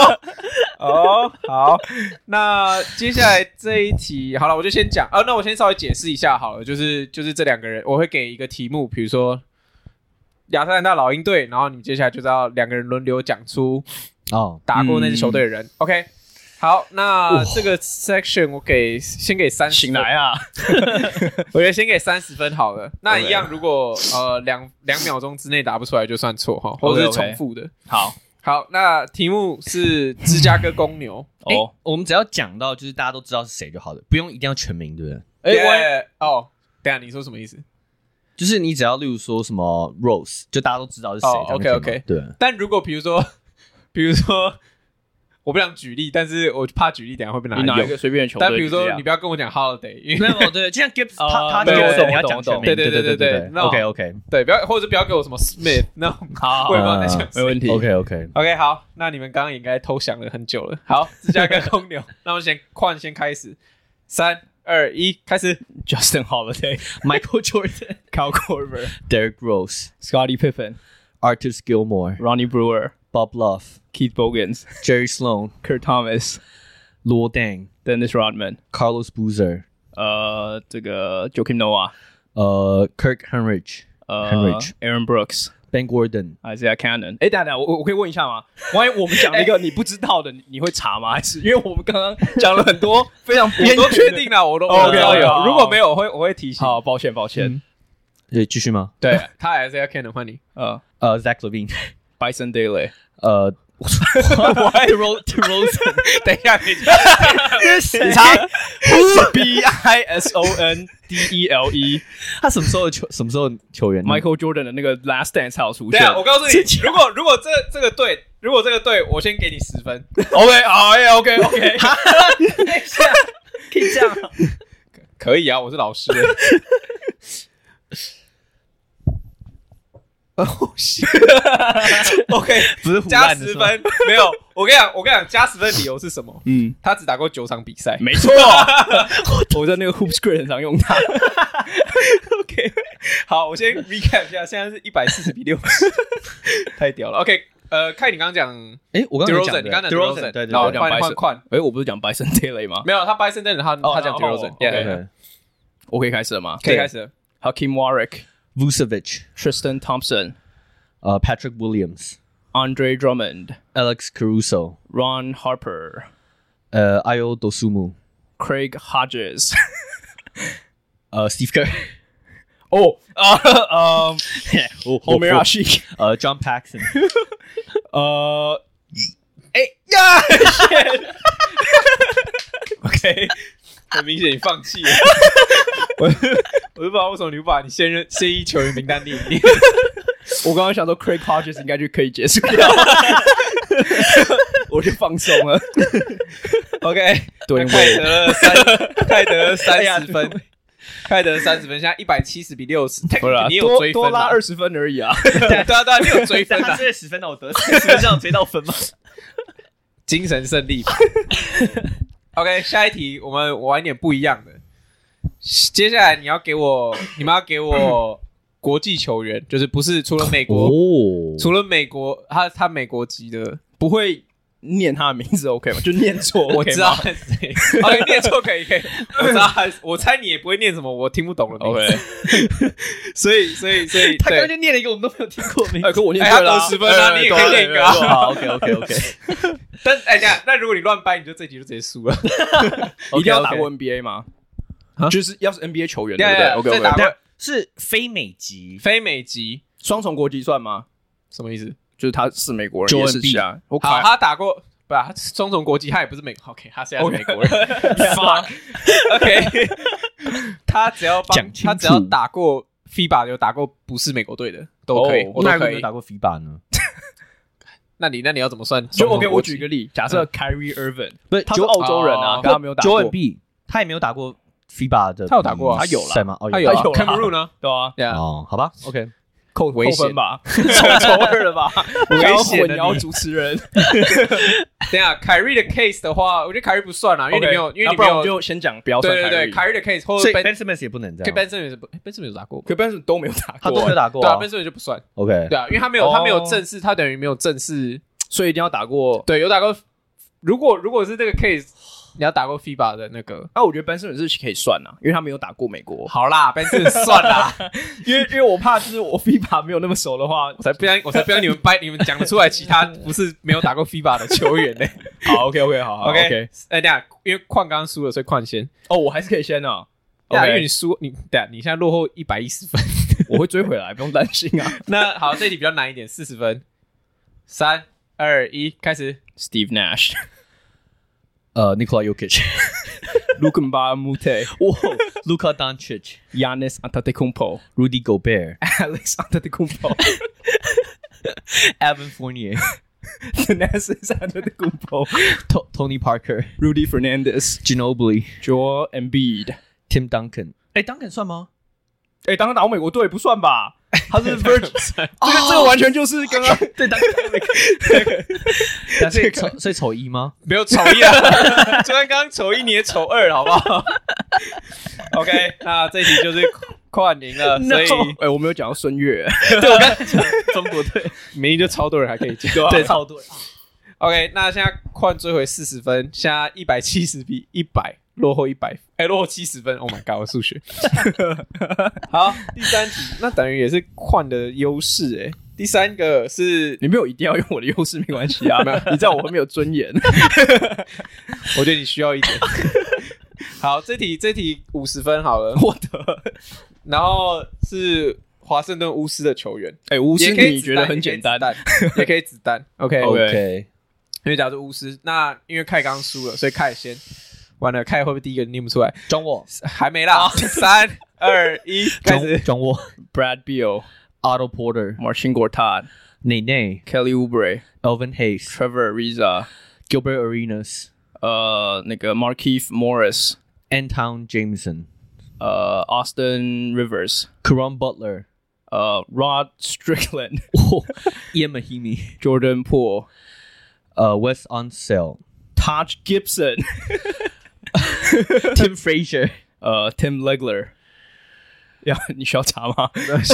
好，那接下來這一題，好了，我就先講。那我先稍微解釋一下好了，就是這2個人，我會給一個題目，比如說亞特蘭大老鷹隊，然後你們接下來就是要2個人輪流講出打過那支球隊的人。OK。好，那這個 section 我先給30分。 醒來啊！ 我覺得先給30分好了。那一樣，如果2秒鐘之內答不出來就算錯哈，或者是重複的。好，那題目是芝加哥公牛。 我們只要講到就是大家都知道是誰就好了，不用一定要全名，對不對？ 等一下你說什麼意思？ 就是你只要例如說什麼 Rose， 就大家都知道是誰。 OK。對。但如果比如說我不想舉例，但是我怕舉例，等一下會被拿來用。 你拿一個隨便的球隊， 但比如說，你不要跟我講 Holiday， 因為沒有對，就像 Gibbs， 他對 Gibbs，你要講全名， 對 ，OK， 對，不要或者不要給我什麼 Smith 那種， 好， 我也不知道在講誰， 沒問題 ，OK， 好，那你們剛剛應該偷想了很久了。好，芝加哥公牛，那我先開始，3、2、1，開始。 Justin Holiday、Michael Jordan、Kyle Korver、Derrick Rose、Scottie Pippen、Artis Gilmore、Ronnie Brewer、Bob Love、Keith Bogans、Jerry Sloan、Kurt Thomas、Luol Deng、Dennis Rodman、Carlos Boozer、這個 Joakim Noah、Kirk Henrich、Aaron Brooks、Ben Gordon、Isaiah Cannon。等下，我可以問一下嗎？萬一我們講了一個你不知道的，你會查嗎？還是因為我們剛剛講了很多非常邊緣的， 我都確定了，我都有。如果沒有，我會提醒。 好，抱歉。 繼續嗎？ 對，他還是要 Cannon 換你。 Zach Levine、Bison Dele。 DeRozan， 等一下，你查 BISONDELE， 他什麼時候球員 ？Michael Jordan 的那個 Last Dance 還有出現。 對啊，我告訴你，如果這個隊，我先給你10分。 OK， 好 ，OK， 等一下，可以這樣？ 可以啊，我是老師。OK， 不是加10分，沒有。我跟你講，加10分理由是什麼？他只打過9場比賽， 沒錯。我在那個 Hoop Screen 很常用它。 OK， 好，我先 recap 一下，現在是140-60，太屌了。OK， 看你剛剛講， 我剛剛講 DeRozan， 你剛剛講 DeRozan， 對， 然後換寬。 我不是講 Bison Dele 嗎？ 沒有，他 Bison Dele， 他講 DeRozan。 我可以開始了嗎？ 可以開始了。 Hakeem Warwick、Vucevic、Tristan Thompson、Patrick Williams、Andre Drummond、Alex Caruso、Ron Harper、Ayo Dosunmu、Craig Hodges、Steve Kerr、Homer Rashik、John Paxson。OK， 很明顯你放棄了。我就不知道為什麼你不把你現役球員名單列一列。 我剛剛想說 Craig Hodges 應該就可以結束掉，我就放鬆了。 OK， 對，泰德30分，泰德30分，現在170-60，你有追分， 多拉20分而已啊。 對啊，你有追分啊。 他追10分，那我得10分，這樣追到分嗎？ 精神勝利。OK， 下一題我們玩一點不一樣的。接下來你們要給我國際球員，就是不是除了美國，除了美國，他美國籍的， 不會念他的名字 OK 嗎？就念錯， 我知道他是誰。OK， 念錯可以，我知道，我猜你也不會念什麼我聽不懂的名字。OK， 所以他剛剛就念了一個我們都沒有聽過的名字， 可我念對了， 他得10分啊，你也可以念一個。 好 OK。 但那如果你亂掰，你就這集就直接輸了。 一定要打過 NBA 嗎？就是要是 NBA 球員，對不對？ 再打過是非美籍雙重國籍算嗎？ 什麼意思？ 就是他是美國人，也是啊。 好，他打過，不是他雙重國籍，他也不是美國。OK， 他现在是美國人。OK， 他只要打過 FIBA 有打過不是美國隊的都可以。 我哪個沒有打過 FIBA 呢？ 那你要怎麼算？ 就 OK， 我舉個例，假設 Kyrie Irving， 不是他是澳洲人啊，他沒有打過。 Joel，他也沒有打過 FIBA 的， 他有打過， 他有了嗎？ 他有 Cameroon 呢？ 對啊， 哦，好吧 ，OK， 扣分吧，抽2了吧， 危險的你要主持人。 等一下，Kyrie 的 case 的話，我覺得 Kyrie 不算啦，因為你沒有， 不然我就先講，不要算 Kyrie。 對 Kyrie 的 case， 或者 Ben Simmons 也不能這樣。 Ben Simmons 有打過， 可 Ben Simmons 都沒有打過， 他都沒有打過， 對啊 ，Ben Simmons 就不算。 OK， 對啊，因為他没有正式，他等於沒有正式， 所以一定要打過。 對，有打過。如果是這個 case。你要打過 FIBA 的那個， 我覺得 Ben Simmons 是可以算啦，因為他沒有打過美國。 好啦 ，Ben Simmons 算啦， 因為我怕就是我 FIBA 沒有那麼熟的話， 我才不要你們掰，你們講得出來其他不是沒有打過 FIBA 的球員呢。 好 ，OK， 好 ，OK。等下，因為礦剛剛輸了，所以礦先。 我還是可以先啊。 因為你輸，你現在落後110分， 我會追回來，不用擔心啊。 那好，這題比較難一點，40分。3、2、1，開始。 Steve Nash。 Nikola Jokic、Luka Mbamute、Luka Doncic、Giannis Antetokounmpo、 Rudy Gobert、 Alex Antetokounmpo、 Evan Fournier、 Thanasis Antetokounmpo, Tony Parker, Rudy Fernandez, Ginobili, Joel Embiid, Tim Duncan。Duncan 算嗎 ？Duncan 打过美国队不算吧？他是 Virgin， 这个完全就是刚刚对 Duncan 所以丑一嗎？ 沒有丑一啊，就算剛剛丑一，你也丑二，好不好 ？OK， 那這一題就是跨年了，所以我沒有講到孫悅， 對我剛才講中國隊， 明明就超多人還可以講， 對，超多人。 OK， 那現在跨追回40分，現在170比100。落後100，落後70分。Oh my god， 我數學。好，第三題，那等於也是換的優勢第三個是你沒有一定要用我的優勢，沒關係啊。你知道我會沒有尊嚴。 我覺得你需要一點。好，這題50分好了， 我的。 然後是華盛頓巫師的球員， 巫師你覺得很簡單， 也可以子彈。OK， 因為假如是巫師，那因為凱剛輸了，所以凱先。完了，看會不會第一個念不出來？ John Wall 還沒啦，3、2、1，開始。 John Wall, Brad Beal, Otto Porter, Marcin Gortat, Nene, Kelly Oubre, Elvin Hayes, Trevor Ariza, Gilbert Arenas, 那個 Markieff Morris, Anton Jameson, Austin Rivers, Caron Butler, Rod Strickland, Ian Mahinmi, Jordan Poole, Wes Unseld.Taj Gibson, Tim Frazier, Tim Legler， 你需要查嗎？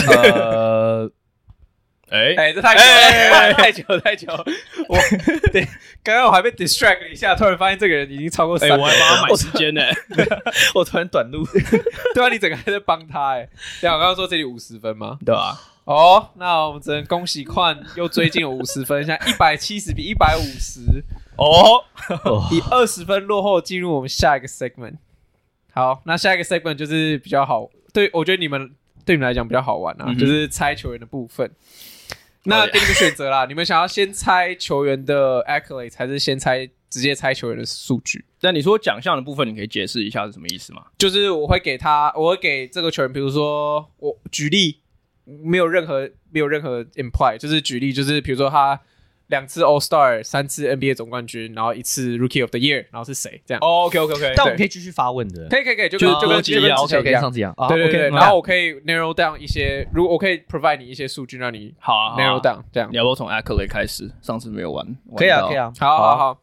這太久了，太久。對，剛剛我還被 distract 了一下，突然發現這個人已經超過3分， 我還幫他買時間呢。 我突然短路， 對啊，你整個還在幫他對啊，我剛剛說這裡50分嗎？ 對啊。 那我們只能恭喜寬又追進了50分，現在170比150。以20分落後進入我們下一個 segment。好，那下一個 segment 就是比較好，對我覺得對你們來講比較好玩就是猜球員的部分。那給你們選擇啦，你們想要先猜球員的 accolades， 還是先直接猜球員的數據？ 但你說獎項的部分，你可以解釋一下是什麼意思嗎？ 就是我會給這個球員，比如說我舉例，沒有任何 imply， 就是舉例，就是比如說他2次 All Star， 3次 NBA 總冠軍，然後1次 Rookie of the Year， 然後是誰這樣 ？OK， 但我們可以繼續發問的， 可以，就跟之前一樣， 上次一樣。 對，然後我可以 narrow down 一些，如果我可以 provide 你一些數據，讓你narrow down 這樣。 你要不要從 accolade 開始？上次沒有玩。 可以啊。 好，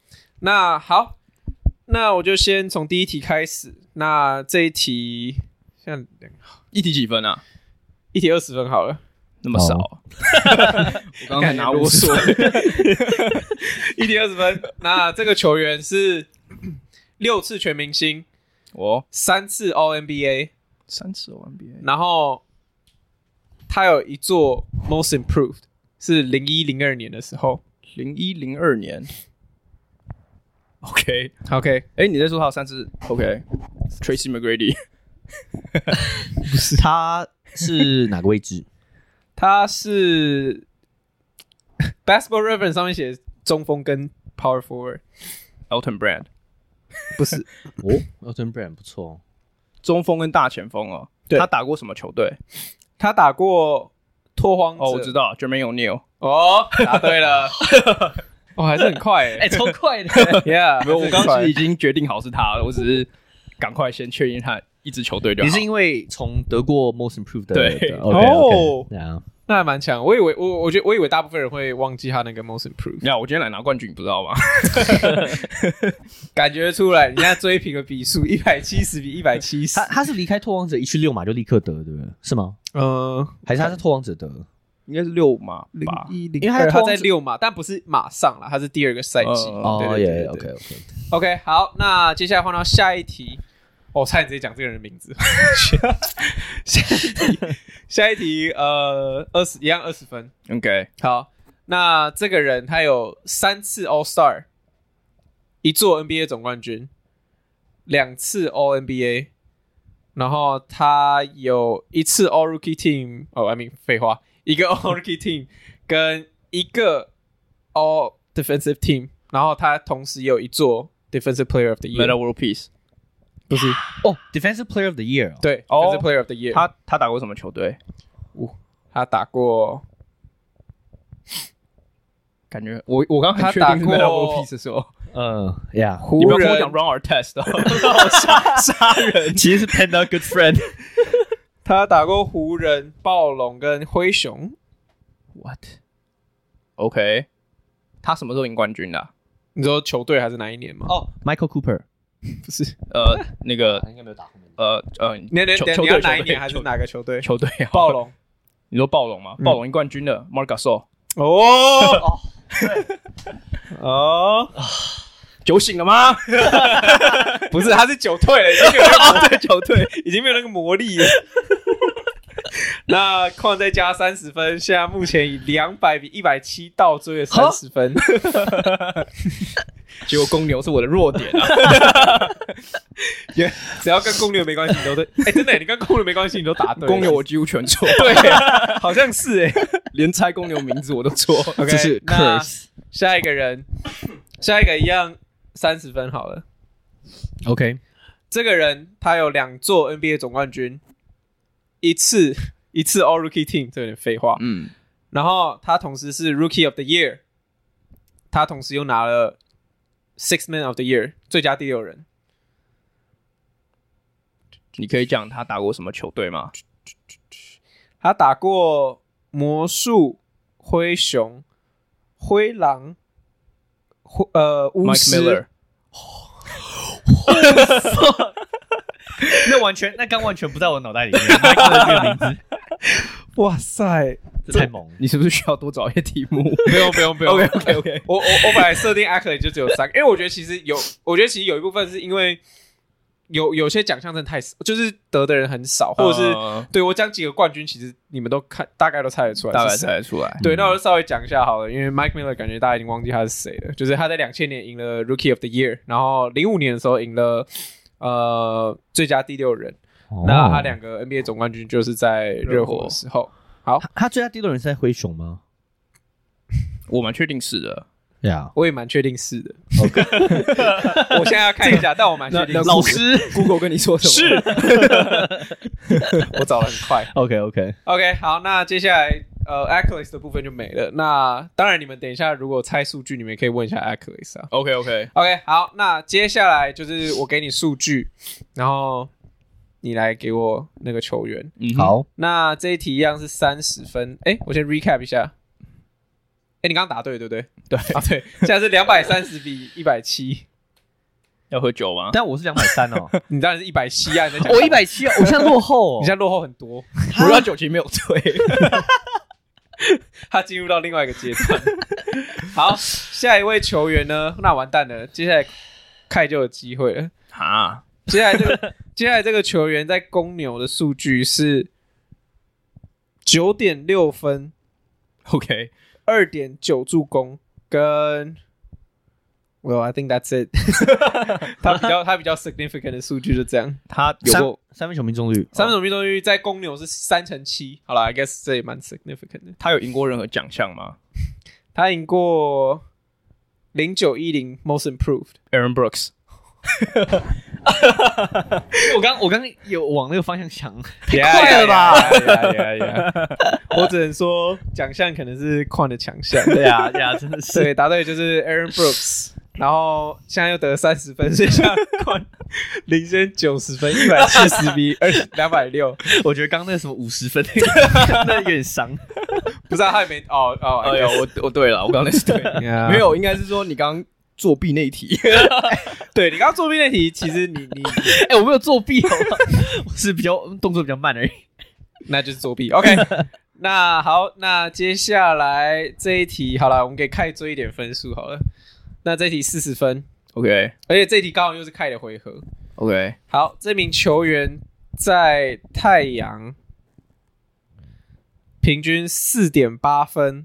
那我就先從第一題開始。那這一題現在一題幾分啊？ 一題20分好了。 那麼少，我剛才拿50分， 一題20分。那這個球員是6次全明星，3次 All NBA， 3次 All NBA， 然後他有一座 Most Improved， 是01-02年的時候 ，01-02年。OK， 你在說他有3次 ？OK，Tracy McGrady， 不是，他是哪個位置？ 他是 Basketball Reference 上面寫中鋒跟 Power Forward。Elton Brand 不是 Elton Brand 不錯， 中鋒跟大前鋒對， 他打過什麼球隊？ 他打過拓荒者。 我知道 Jermaine O'Neal。 答對了。還是很快超快的。 Yeah， 我剛剛已經決定好是他了，我只是趕快先確認他一支球隊就好。 你是因為從得過 Most Improved 的？ 對。 那還蠻強。我以為大部分人會忘記他那個 Most Improved。 我今天來拿冠軍，你不知道嗎？ 感覺出來，你現在追平了比數，170比170。 他是離開拓荒者一去6碼就立刻得，對不對？是嗎？還是他是拓荒者得？ 應該是6碼吧， 因為他在6碼，但不是馬上啦，他是第2個賽季。 對。 OK， 好，那接下來換到下一題。差點直接講這個人的名字。下一題一樣20分。 OK， 好，那這個人他有3次 All Star， 1座 NBA 總冠軍，2次 All NBA， 然後他有1次 All Rookie Team， 廢話，1個 All Rookie Team 跟1個 All Defensive Team， 然後他同時也有1座 Defensive Player of the Year。Meta World Peace。 不是 Defensive Player of the Year。 對，Defensive Player of the Year。 他打過什麼球隊？ 他打過感覺我剛很確定是 Melo Peace 說， 呀， 你不要跟我講 Run Our Test 哦，殺人， 其實是 Panda Good Friend。 他打過湖人、暴龍跟灰熊。 What？ OK， 他什麼時候贏冠軍的啊？ 你說球隊還是哪一年嗎？ 哦 ，Michael Cooper 不是， 那個應該沒有打後面。 你要哪一年還是哪個球隊？ 球隊暴龍。 你說暴龍嗎？暴龍贏冠軍的 Marc Gasol。 哦，哦， 酒醒了嗎？ 不是，他是酒退了，已经没有那個酒退，已經沒有那個魔力了。那礦再加30分，現在目前以200比170倒追了30分。 結果公牛是我的弱點啊！ 只要跟公牛沒關係，你都對。真的，你跟公牛沒關係，你都答對。 公牛我幾乎全錯。 對，好像是連猜公牛名字我都錯。 Okay, 這是 curse。 下一個人，下一個一樣30分好了。 OK， 這個人他有2座 NBA 總冠軍，一次 All Rookie Team， 這有點廢話。然後他同時是 Rookie of the Year， 他同時又拿了 Sixth Man of the Year 最佳第6人。 你可以講他打過什麼球隊嗎？ 他打過魔術、灰熊、灰狼、巫師。 那刚完全不在我腦袋裡面。Mike Miller 這個名字， 哇塞， 這太猛了！ 你是不是需要多找一些題目？ 不用。 OK。 我本來設定 accolade 就只有3個，因為我覺得其實有一部分是因為有些獎項真的太少，就是得的人很少，或者是對我講幾個冠軍，其實你們都大概都猜得出來， 大概猜得出來。 對，那我就稍微講一下好了，因為 Mike Miller 感覺大家已經忘記他是誰了，就是他在2000年贏了 Rookie of the Year， 然後05年的時候贏了最佳第6人。那他2個 NBA 總冠軍就是在熱火的時候。好， 他最佳第6人是在灰熊嗎？ 我蠻確定是的。 我也蠻確定是的。OK， 我現在要看一下，但我蠻確定。 老師 Google 跟你說什麼？ 是，我找得很快。 OK， 好，那接下來accolades 的部分就沒了。那当然，你們等一下如果猜数據，你们可以問一下 accolades 啊。 OK， 好，那接下來就是我給你數據，然後你來給我那個球員。 好， 那這一題一樣是30分。我先 recap 一下。你剛剛答對，對不對？ 對， 對，現在是230比170。 要喝酒嗎？ 但我是230哦。 你當然是170啊！ 我170啊，我現在落後哦。 你現在落后很多。 我要酒其實沒有醉。 他進入到另外一個階段。好，下一位球員呢？那完蛋了，接下來凱就有機會了。接下來這個球員在公牛的數據是 9.6 分。 OK。 2.9 助攻跟 Well, I think that's it 。他比較 significant 的數據就這樣。他有過三分球命中率在公牛是3成7。好啦 I guess 這也蠻 significant 的。 他有贏過任何獎項嗎？ 他贏過0910 Most Improved Aaron Brooks。 我剛有往那個方向想， 太快了吧！我只能說獎項可能是礦的強項。 對啊，真的是。 對，答對就是 Aaron Brooks， 然後現在又得30分，所以現在礦領先90分，170比260。 我覺得剛剛那個什麼50分，那有點傷。 不是他還沒我對了，我剛剛那是對，沒有，應該是說你剛剛作弊那一題。 對，你剛剛作弊那題，其實你我沒有作弊，好吧？我是動作比較慢而已， 那就是作弊。OK， 那好，那接下來這一題好了，我們給凱追一點分數好了。那這一題40分 ，OK， 而且這一題剛好又是凱的回合 ，OK。 好，這名球員在太陽平均4.8分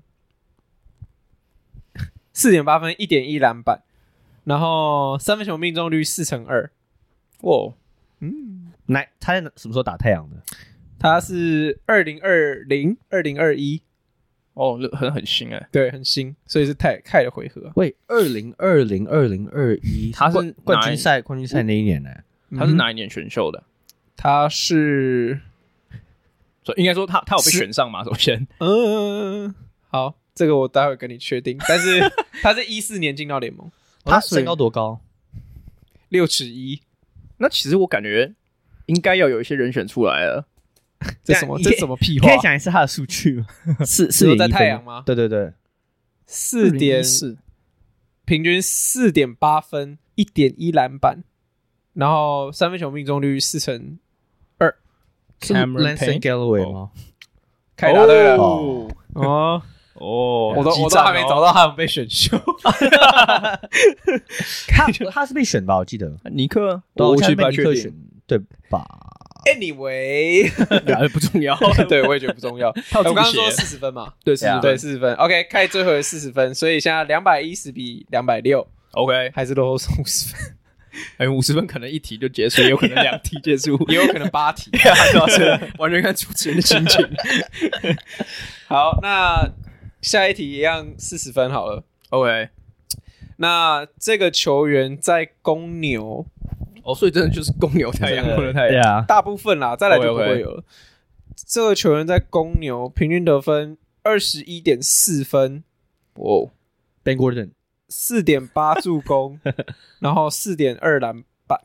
，4.8分，1.1籃板。然後三分球命中率4成2。 哇， 他在什麼時候打太陽的？ 他是2020、2021。 哦，很新哎。 對，很新，所以是凱的回合。 喂，2020、2021，他是冠軍賽那一年呢？ 他是哪一年選秀的？ 他是， 所以應該說他有被選上嗎？首先， 好， 這個我待會跟你確定。但是他是14年進到聯盟， 他身高多高 ？6尺1。 那其實我感覺應該要有一些人選出來了。 這什麼屁話？ 可以講一下他的數據嗎？是在太陽嗎？ 对對對 ，4.4，平均4.8分，1.1籃板，然後三分球命中率42%。 是 Langston Galloway 嗎？ 開答對了我都還沒找到他们被選秀。 他是被選吧？我記得尼克， 我去被尼克選，對吧 ？Anyway， 不重要。 對，我也覺得不重要。我剛剛說40分嘛，對，40分。OK， 開最後的40分，所以現在210比260。OK， 還是落後50分。 50分可能1題就結束，也有可能2題結束， 也有可能8題。 完全看主持人的心情。 好，那下一題一樣40分好了。OK， 那這個球員在公牛， 所以真的就是公牛太陽，公牛太陽， 大部分啦，再來就不會有了。這個球員在公牛平均得分21.4分 ，Ben Gordon。 4.8 助攻，然後4.2籃板。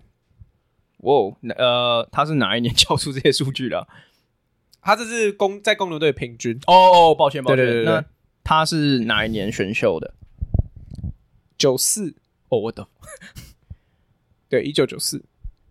他是哪一年交出這些数據的？ 他這是在公牛隊平均。 抱歉。 对。 那他是哪一年選秀的 ？94。 我懂。 對，1994。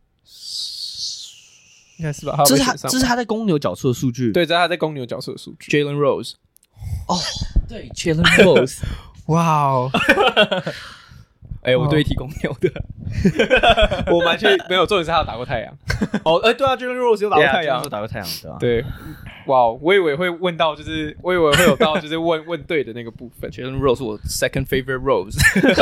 应該是吧？ 這是他在公牛角出的數據。 對，這是他在公牛角出的數據。 Jalen Rose。 對 ，Jalen Rose。 哇哦！ 我对提公牛的， 我蠻確沒有，重點是他有打過太陽。 對啊 ，Jalen Rose 有打過太陽， 打過太陽的。 對，哇，我以為會問到，就是我以為會有到，就是問對的那個部分。 Jalen Rose 是我 second favorite Rose。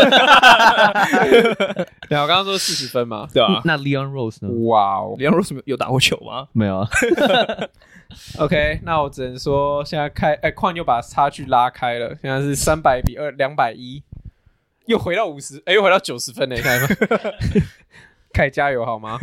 對，我剛剛說40分嘛， 對啊。 那 Leon Rose 呢？ 哇哦 ，Leon Rose 有打過球嗎？ 沒有啊。 OK， 那我只能說現在礦又把差距拉開了，現在是300比201，又回到50，又回到90分了，你看嗎？凱加油好嗎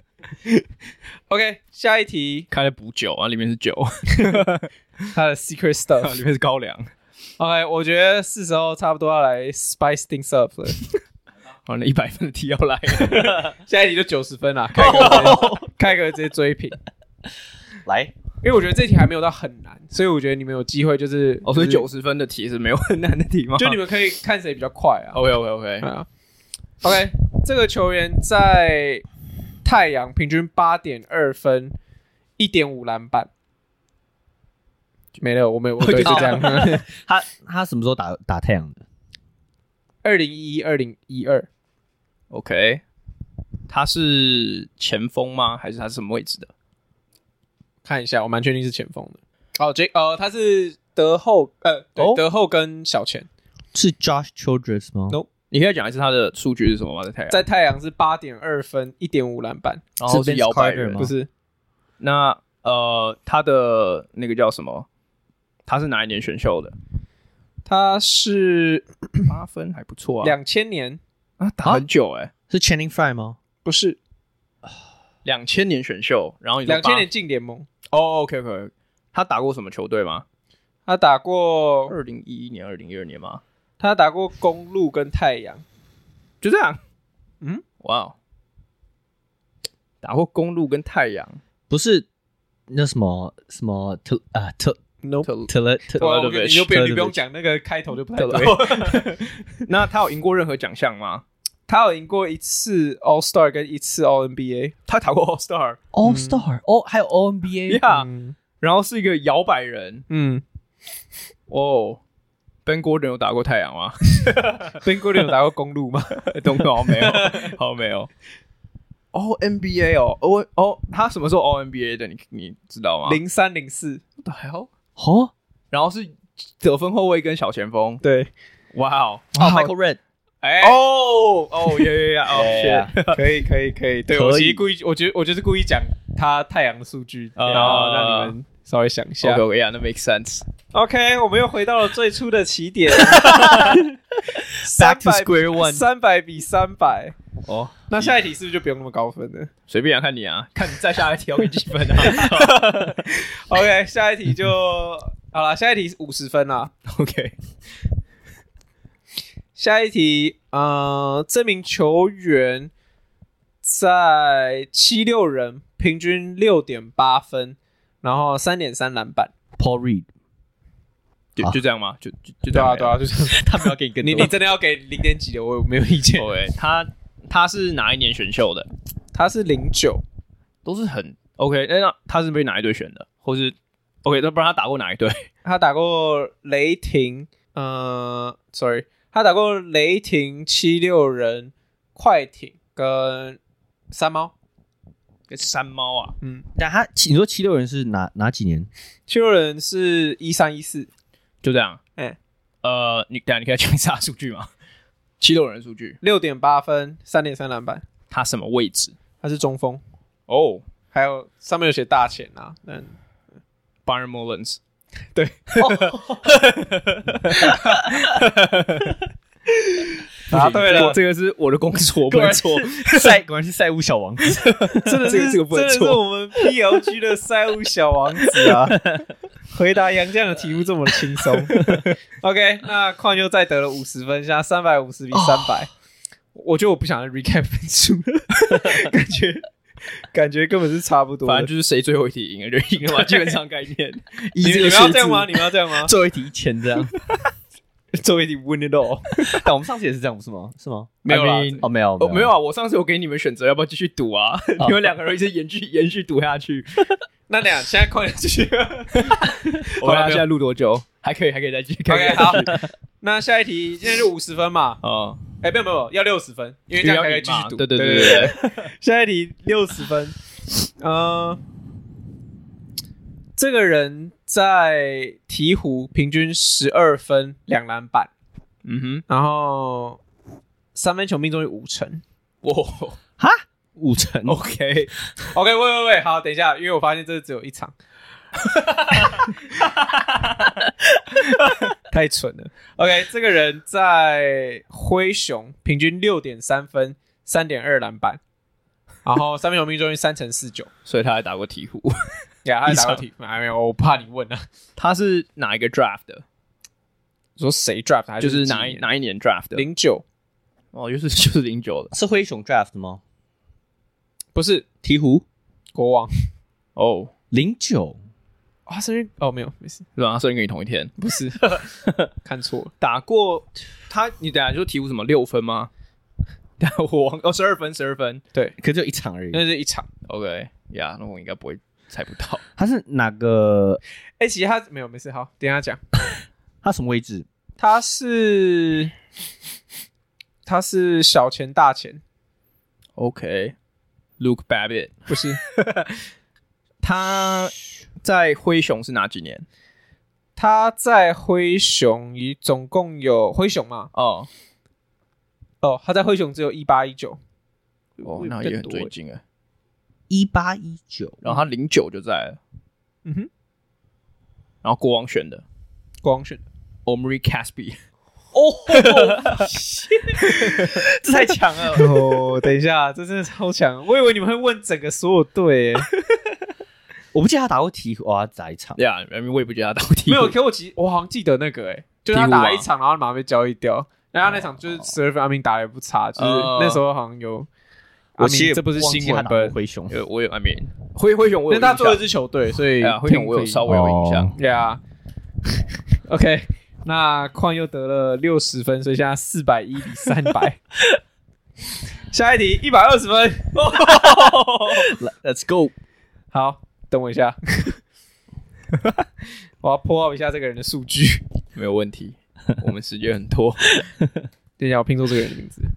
？OK， 下一題， 開了補酒啊，裡面是酒， 他的 secret stuff 裡面是高粱。 OK， 我覺得是時候差不多要來 spice things up 了。 好，那100分的題要來了， 下一題就90分啦，開個直接追平， 來。 因為我覺得這題還沒有到很難，所以我覺得你們有機會就是所以90分的題是沒有很難的題嗎？ 就你們可以看誰比較快啊。 OK， 這個球員在太陽平均8.2分，1.5籃板，沒了，我對，就這樣。 他什麼時候打太陽的 ？2011、2012。 OK， 他是前鋒嗎？還是他是什麼位置的？ 看一下，我蠻確定是前鋒的。他是德後，德後跟小前。 是 Josh Childress 嗎 ？No， 你可以講一次他的數據是什麼嗎？ 在太陽是8.2分，1.5籃板， 然後是搖擺人嗎？不是。 那他的那個叫什麼？他是哪一年選秀的？ 他是 8分，還不錯啊。 2000年啊，打很久是 Channing Frye 嗎？ 不是。 2000年選秀，然後 2000年進聯盟。 OK， 他打過什麼球隊嗎？ 他打過 2011年、2012年嗎？ 他打過公鹿跟太陽， 就這樣。哇，打過公鹿跟太陽， 不是那什麼你就不用講那個開頭就不太對。 那他有贏過任何獎項嗎？ 他有贏過1次 All Star 跟1次 All NBA， 他打過 All Star， 還有 All NBA， 然後是一個搖擺人，Ben Gordon 有打過太陽嗎 ？Ben Gordon 有打過公鹿嗎？ 都沒有，沒有。All NBA 他什麼時候 All NBA 的？你知道嗎 ？03、04。 What the hell？然後是得分後衛跟小前鋒。 對， 哇哦 ，Michael Redd。 可以。對，我其實故意，我就是故意講他太陽的數據，然後讓你們稍微想一下。 OK， that makes sense。 OK， 我們又回到了最初的起點。 Back to square one。 300比300。那下一題是不是就不用那麼高分了？ 隨便看你啊，看你再下一題要給幾分啊？ OK， 下一題就好了，下一題50分啦。 OK， 下一題，這名球員在76人，平均 6.8 分，然後 3.3 籃板。 Paul Reed， 就這樣嗎？就對啊，就這樣。 他不要給你更多， 你真的要給0點幾的，我沒有意見。 對，他是哪一年選秀的？ 他是09， 都是很 OK。那他是被哪一隊選的？或是 OK？ 那不然他打過哪一隊？ 他打過雷霆，sorry， 他打過雷霆、76人、快艇跟山猫。 山猫啊， 但你說76人是哪幾年 ？76人是13、14， 就這樣。你可以講一下數據嗎？76人的數據 6.8 分， 3.3 籃板。 他什麼位置？ 他是中锋。 哦， 還有上面有寫大前啊，但 Byron Mullins， 對。答對了， 這個是我的工作，不錯。 果然是賽務小王子， 真的是這個不能錯。 真的是我們 PLG 的赛務小王子啊！回答杨絳的題目這麼輕鬆。OK， 那礦又再得了50分，現在350比300。我覺得我不想再 recap 分數了，感覺根本是差不多。 反正就是誰最後一題贏了就贏了嘛，基本上概念。 你們要這樣嗎？你们要這樣嗎？ 最後一題1000這樣。 最後一題 win it all， 但我們上次也是這樣，不是嗎？是嗎？ 沒有啦， 沒有啊！我上次有給你們選擇要不要繼續賭啊？你們兩個人一直延續賭下去。 那這樣，現在快點繼續。 我們現在錄多久？還可以再繼續。 OK， 好。那下一題現在就50分嘛。沒有，要60分，因為這樣還可以繼續賭。 對。 下一題60分。這個人在鹈鶘平均12分2籃板，然後三分球命中率50%。 哈，50%。 OK， 喂，好，等一下，因為我發現這只有一場，太蠢了。OK， 這個人在灰熊平均 6.3 分 3.2 籃板，然後三分球命中率3.49%， 所以他還打過鹈鶘。 他還打過鹈鶘，還沒有，我怕你問啊。 他是哪一個 draft 的？ 你說誰 draft 還是就是哪一年 draft 的 ？09。 哦，就是09的。 是灰熊 draft 的嗎？ 不是， 鹈鶘國王。 哦 ，09。 他生日没有，没事。 是吧？他生日跟你同一天？ 不是，看錯了。 打過他，你等一下就鹈鶘什麼6分嗎？我忘12分， 對， 可就一場而已。 那是一場。 OK， 呀，那我應該不會。猜不到他是哪個？ 其實他沒有，沒事，好，等一下講。 他什麼位置？ 他是小前大前。 OK，Luke Babbitt 不是。 他在灰熊是哪幾年？ 他在灰熊總共有灰熊嘛？他在灰熊只有18、19。 那也很最近哎。 18、19， 然後他09就在了，然後國王選的 Omri Caspi， 這太強了！等一下，這真的超強！我以為你們會問整個所有隊， 我不記得他打過鹈鶘，他打一場。 我也不記得他打過鹈鶘。 沒有，可我好像記得那個，就是他打一場，然後馬上被交易掉。然後那場就是12分，阿明打得也不差，就是那時候好像有。這不是新聞本灰熊， 我有灰熊，我有印象，因為他做了一支球隊，所以灰熊我有稍微有印象。 OK， 那礦又得了60分，所以現在410比300。下一題120分 ，Let's go。 好，等我一下，我要破耗一下這個人的數據。 沒有問題，我們時間很多。 等一下，我拼錯這個人的名字。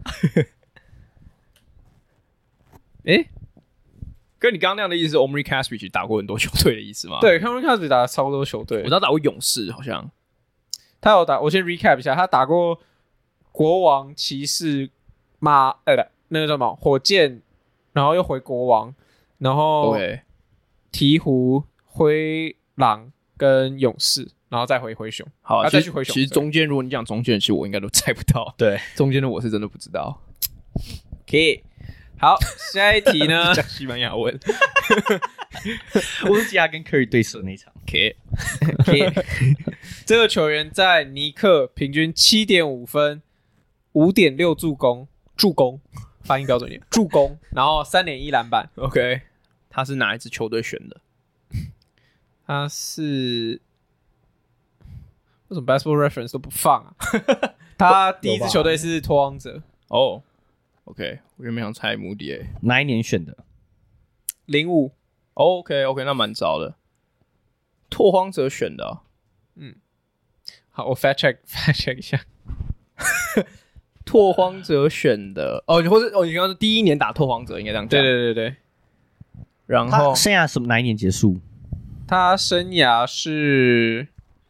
跟你剛剛那樣的意思是 Omri Caspi 打過很多球隊的意思嗎？ 對 ，Omri Caspi 打了超多球隊， 我知道打過勇士，好像他有打。我先 recap 一下，他打過國王、騎士、那個叫什麼火箭，然後又回國王，然後鹈鶘、灰狼跟勇士，然後再回灰熊。 好， 再去灰熊。 其實中間如果你講中間，其實我應該都猜不到。 對， 中間的我是真的不知道。 OK。好，下一題呢？ 講西班牙文。 我是記得他跟 Curry 對手那場。 ，K， 這個球員在尼克平均 7.5 分，5.6助攻，發音標準點，助攻，然後 3.1 籃板。 OK， 他是哪一支球隊選的？ 他是為什麼 Basketball Reference 都不放啊？他第一支球隊是拓荒者。 哦 ，OK， 我原本想猜穆迪誒， 哪一年選的 ？05。 OK， 那蠻早的。拓荒者選的、啊， 好，我 fact check 一下。 拓荒者選的哦，或者你刚刚是第一年打拓荒者，應該這樣講。 對。 然後他生涯什麼哪一年結束？ 他生涯是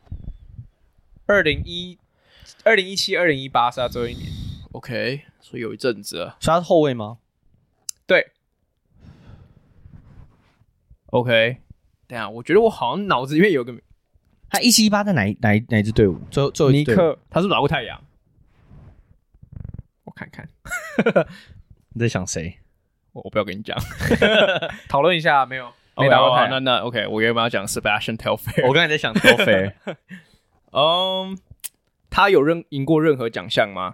2017、2018是他最後一年。 OK， 所以有一陣子了。 所以他是後衛嗎？ 對。 OK， 等一下，我覺得我好像腦子裡面有個， 他17-18在哪一支隊伍？最後尼克， 他是不是打過太陽？ 我看看， 你在想誰？ 我不要跟你講， 討論一下，沒打過太陽。 那 OK， 我原本要講 Sebastian Telfair， 我剛才在想 Telfair。 他有贏過任何獎項嗎？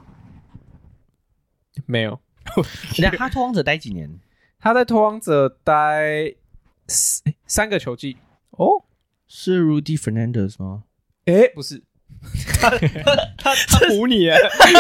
沒有。 他拓荒者待幾年？ 他在拓荒者待3個球季。 哦，是 Rudy Fernandez 嗎？ 不是。 他唬你耶！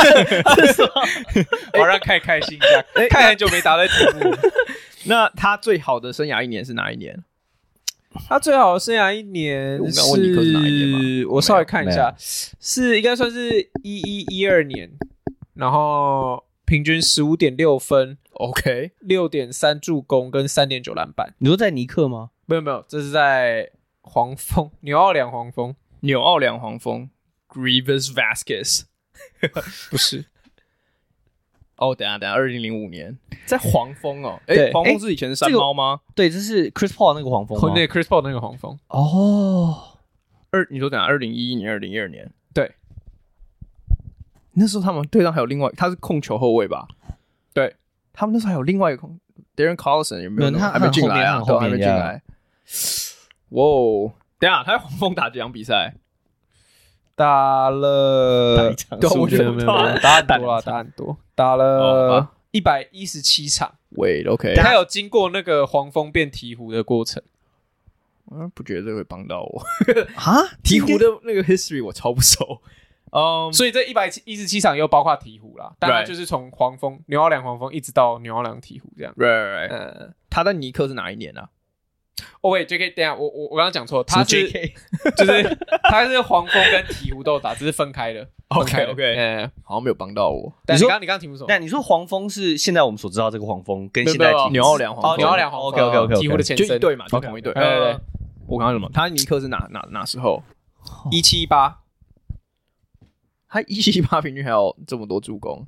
我讓看開心一下，看很久沒答對題目。 那他最好的生涯一年是哪一年？ 他最好的生涯一年， 我剛問尼克是哪一年嗎？ 我稍微看一下，是應該算是11-12年，然後平均 15.6 分 ，OK， 6.3助攻跟 3.9 籃板。 你說在尼克嗎？ 沒有，這是在黃蜂，紐奧良黃蜂。 Grievous Vasquez 不是哦，等一下，2005年在黃蜂哦， 對， 黃蜂是以前是山貓嗎？ 對，這是 Chris Paul 那個黃蜂嗎？ 對 ，Chris Paul 那個黃蜂。 哦， 你說等下2011年、2012年， 對， 那時候他們隊上還有另外，他是控球後衛吧？ 對， 他們那時候還有另外一個控 Darren Collison 有沒有？ 他還沒進來啊， 後面還沒進來。哇，等一下，他在黃蜂打幾場比賽？ 打了， 對， 我覺得沒有打很多，打了117場。 Wait, OK， 他有經過那個黃蜂變鹈鶘的過程。 不覺得這會幫到我啊？ 鹈鶘的那個 history 我超不熟。 所以這117場又包括鹈鶘啦，當然就是從黃蜂、紐奧良黃蜂一直到紐奧良鹈鶘這樣。 Right. 他在尼克是哪一年啊？ 哦喂 ，JK， 等一下，我剛剛講錯，他是 JK， 就是他是黃蜂跟鹈鶘都打，只是分開的。 OK， 好像沒有幫到我。 但你剛剛題目什麼？ 但你說黃蜂是現在我們所知道這個黃蜂，跟現在紐奧良黃蜂， 紐奧良黃蜂 ，OK， 鹈鶘的前身， 就一隊嘛，就同一隊。 對。 我剛剛什麼？他尼克是哪時候 ？17-18， 他17-18平均還有這麼多助攻。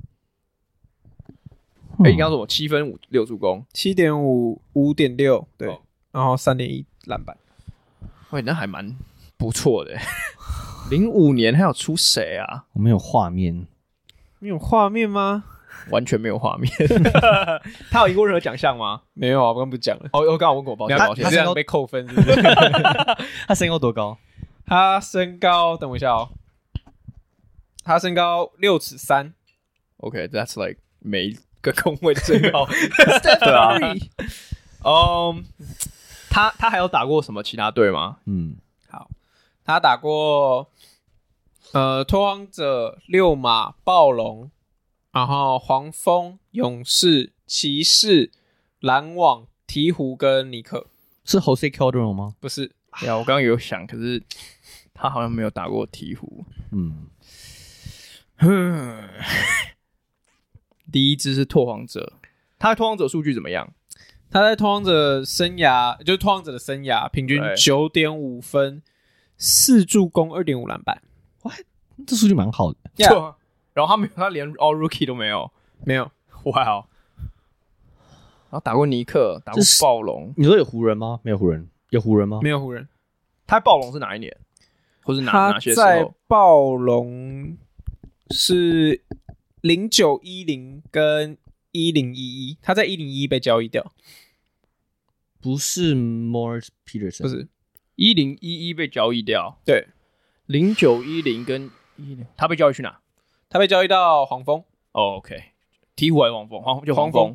你剛剛說我7分5助攻 ，7.5 5.6，對。然後3.1籃板， 喂，那還蠻不錯的。05年還有出誰啊？ 我沒有畫面， 沒有畫面嗎？ 完全沒有畫面。他有贏過任何獎項嗎？ 沒有啊，我剛不講了。 我剛問過，抱歉， 他這樣被扣分是不是？ 他身高多高？ 他身高，等我一下哦。他身高6'3". OK，that's like 每一個控衛的身高。 對啊。 他還有打過什麼其他隊嗎？ 好，他打過拓荒者、溜馬、暴龍，然後黃蜂、勇士、騎士、籃網、鹈鶘跟尼克。 是 Jose Calderon 嗎？ 不是。 呀，我剛剛有想，可是他好像沒有打過鹈鶘。第一支是拓荒者，他的拓荒者數據怎麼樣？ 他在拓荒者生涯，就是拓荒者的生涯，平均 9.5 分，4助攻，2.5籃板。 哇，這數據蠻好的。 Yeah. 然後他連 All Rookie 都沒有， 沒有。 哇哦！然後打過尼克，打過暴龍。 你說有湖人嗎？沒有湖人。有湖人嗎？ 沒有湖人。 他在暴龍是哪一年？或是哪些時候？ 他在暴龍是0910跟1011，他在1011被交易掉。 不是 Morris Peterson， 不是 1011被交易掉， 對 ，0910跟10，他被交易去哪？ 他被交易到黄蜂。 OK， 鹈鶘還是黃蜂？就黄蜂，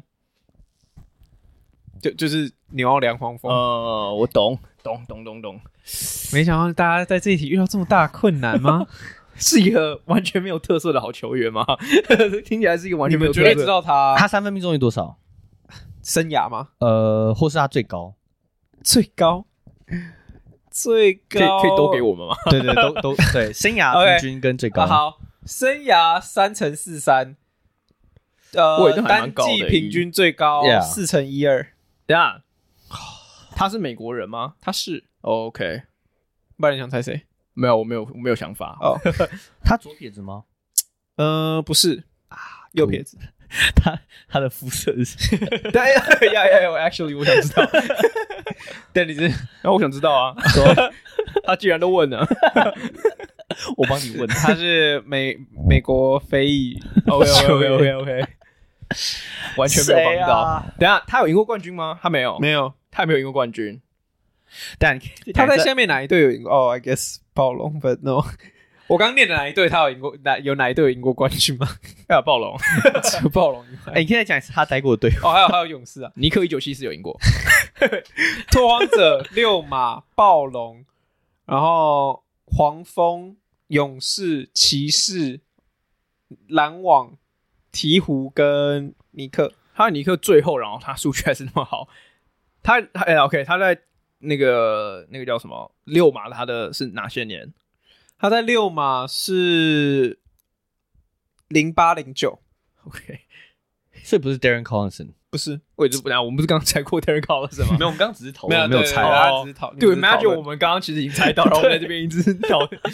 就是紐奧良黄蜂。 我懂。 沒想到大家在這一題遇到這麼大的困難嗎？ 是一個完全沒有特色的好球員嗎？聽起來是一個完全沒有特色。 你們絕對知道他三分命中率多少？ 生涯嗎？ 或是他最高？ 最高可以都给我們嗎？ 对，都对，生涯平均跟最高。 Okay. 好，生涯3.43，单季平均最高4.12。 等下，他是美國人嗎？ 他是。 OK， 不然你想猜誰？ 沒有，我没有想法。 哦， 他左撇子嗎？ 不是右撇子。 他的膚色是 ？Actually， 我想知道。 但你是， 我想知道啊。他既然都問了， 我幫你問。 他是美國非裔。 OK， 完全沒有幫到。等一下，他有贏過冠軍嗎？他沒有，他也沒有贏過冠軍。 但他在下面哪一隊有贏過？I guess 暴龍 ，But no。我剛念的哪一隊他有贏過？有哪一隊有贏過冠軍嗎？ 暴龍， 只有暴龍以外。 你可以再講一次他待過的隊。 還有勇士啊， 尼克1974有贏過。 拓荒者、溜馬、暴龍，然後黃蜂、勇士、騎士、籃網、鹈鶘跟尼克。 他尼克最後，然後他數據還是那麼好。OK， 他在那個叫什麼溜馬，他的是哪些年？ 他在溜馬是08-09 ，OK， 所以不是 Darren Collison， 不是， 我們不是剛猜過 Darren Collison 吗？ 沒有，我們剛剛只是討論， 沒有猜啊， 對 ，Imagine 我們剛剛其實已經猜到，然後我們在這邊一直討論。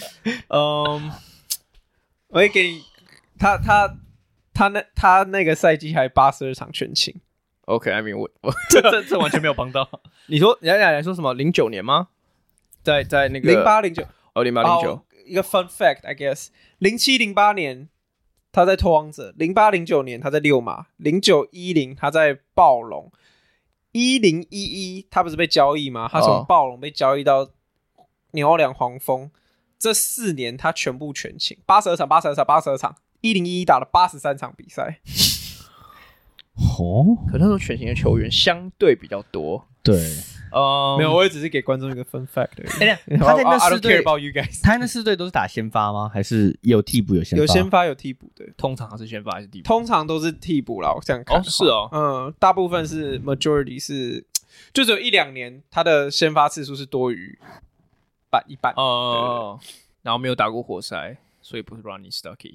我會給你，他那個賽季還82場全勤。 OK，I mean 我這完全沒有幫到。 你說你來說什麼09年嗎？在那個 08-09， 哦08-09。 一個 fun fact I guess， 07-08年他在拓荒者，08-09年他在溜馬，09-10他在暴龍，10-11他不是被交易嗎？他從暴龍被交易到紐奧良黃蜂，這4年他全部全勤，82場，10-11打了83場比賽。 可那時候全勤的球員相對比較多。 對， 沒有，我也只是給觀眾一個 fun fact 而已。 他在那 4隊， 他那4隊都是打先發嗎？還是有替補有先發？ 有先發有替補的， 通常是先發還是替補？ 通常都是替補啦，我這樣看。 是哦， 大部分是 majority 是，就只有1-2年他的先發次數是多於一半。 然後沒有打過活塞，所以不是 Ronnie Stuckey。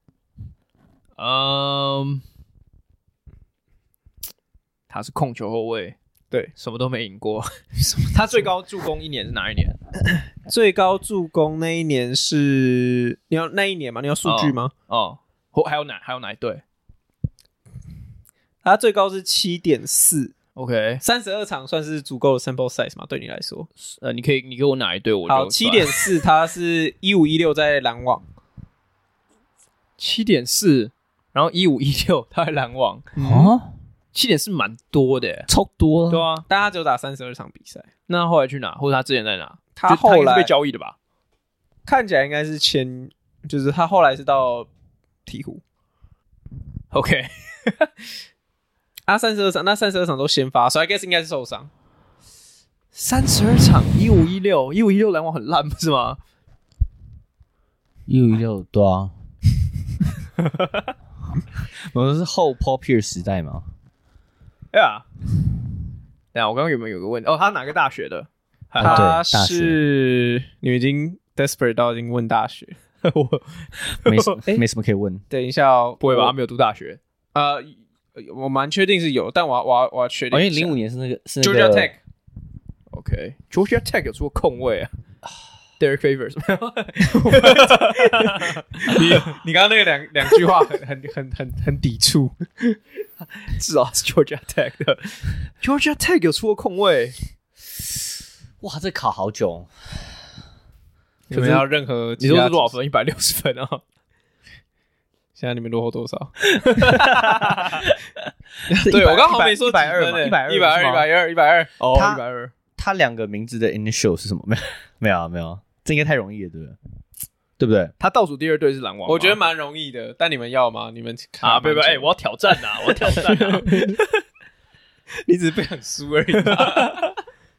他是控球後衛， 對， 什麼都沒贏過。他最高助攻一年是哪一年？ 最高助攻那一年是那一年嗎？你要數據嗎？ 還有哪一隊？ 他最高是 7.4。 OK， 32場算是足夠的 sample size 嗎？對你來說？ 你給我哪一隊？我好 7.4， 他是15-16在籃網。 7.4， 然後15-16他在籃網。7.4蠻多的， 超多。 對啊， 但他只有打32場比賽。 那後來去哪？或者他之前在哪？ 他後來是被交易的吧？ 看起來應該是就是他後來是到鹈鶘。 OK， 32場，那32場都先發，所以 I guess 應該是受傷。 32場15-16籃網很爛不是嗎 ？15-16對啊。我們是後 Paul Pierce 時代嗎？ 對啊。等下我剛剛有沒有個問題？他哪個大學的？ 他是你們已經 desperate 到已經問大學， 我沒什麼可以問。 等一下不會吧？他沒有讀大學？ 我蠻確定是有，但我要確定。 因為05年是那個 Georgia Tech。OK，Georgia Tech 有出過控衛啊。Derek Favors 你剛剛那個兩句話很抵觸。 至少是 Georgia Tech 的。Georgia Tech 有出過控衛。 哇，這考好久。 有沒有任何？ 你說是多少分？160分啊！ 現在你們落後多少？對，我剛好沒說120，120。 哦，120。 他兩個名字的 initial 是什麼？沒有，這應該太容易了，對不對？ 他倒數第二隊是籃網， 我覺得蠻容易的，但你們要嗎？你們看不，我要挑戰啊！我要挑戰啊！ 你只是不想輸而已。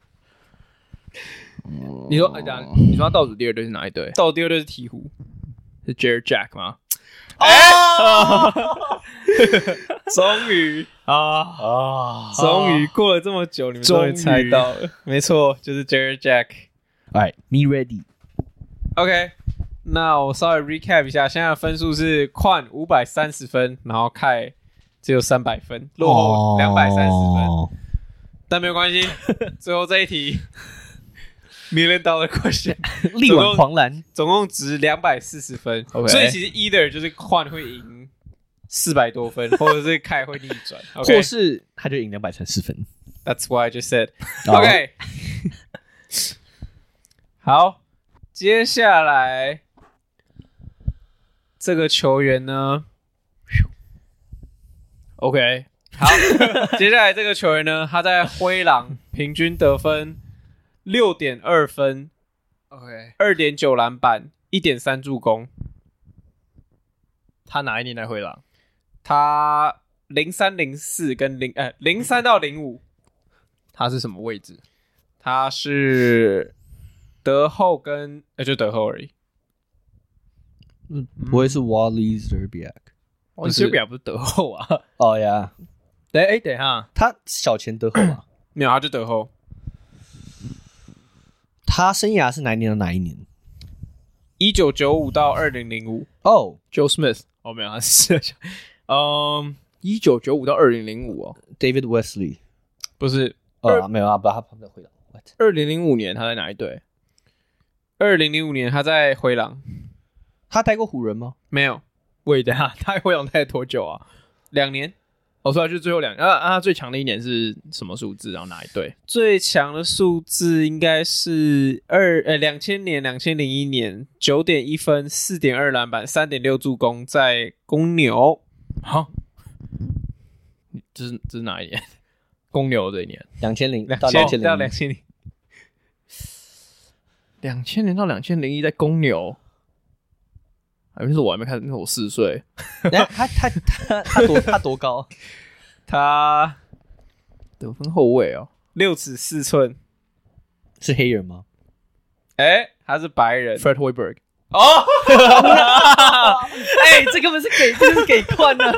你說他倒數第二隊是哪一隊？ 倒數第二隊是鹈鶘， 是 Jared Jack 嗎？ 終於終於過了這麼久，你們終於猜到了，沒錯，就是 Jared Jack。Alright, me ready. OK， 那我稍微 recap 一下，現在的分數是Quan 530分，然後Kai只有300分，落後230分，但沒有關係，最後這一題。$1 million question， 力挽狂瀾， 總共值240分， okay. 所以其實 either 就是Quan會贏400多分，或者是Kai會逆轉， okay? 或是他就贏234分。 That's what I just said. OK， 好，接下來這個球員呢 ？OK， 好，接下來這個球員呢，他在灰狼平均得分。6.2 分 ，OK， 2.9 籃板，1.3助攻。 他哪一年來灰狼？ 他03、04跟03到05。 他是什麼位置？ 他是德後跟就德後而已。 不会是 Wally Szczerbiak？Wally Szczerbiak 不是德後啊？ 哦呀， 等一下， 他小前德后啊？ 没有，他就德後。 他生涯是哪一年到哪一年 ？1995到2005。 哦 ，Joe Smith。哦，沒有，他是1995到2005哦。 David Wesley 不是， 沒有啊，不，他旁邊回答。 2005年他在哪一隊 ？2005年他在灰狼。 他待過湖人嗎？ 沒有。 喂，等一下，他在灰狼待了多久啊 ？2年。 我說就是最後2年。他最強的一年是什麼數字？然後哪一隊？ 最強的數字應該是2000年、2001年9.1分、4.2籃板、3.6助攻，在公牛。 好，這是哪一年？公牛這一年 ，2000 到2000到2000。 2000年到2001在公牛。那是我還沒看，那是我4歲。 他多高？ 他得分後衛哦 ，6尺4寸， 是黑人嗎？ 他是白人 ，Fred Hoiberg。 哦， 這根本是給Quan的。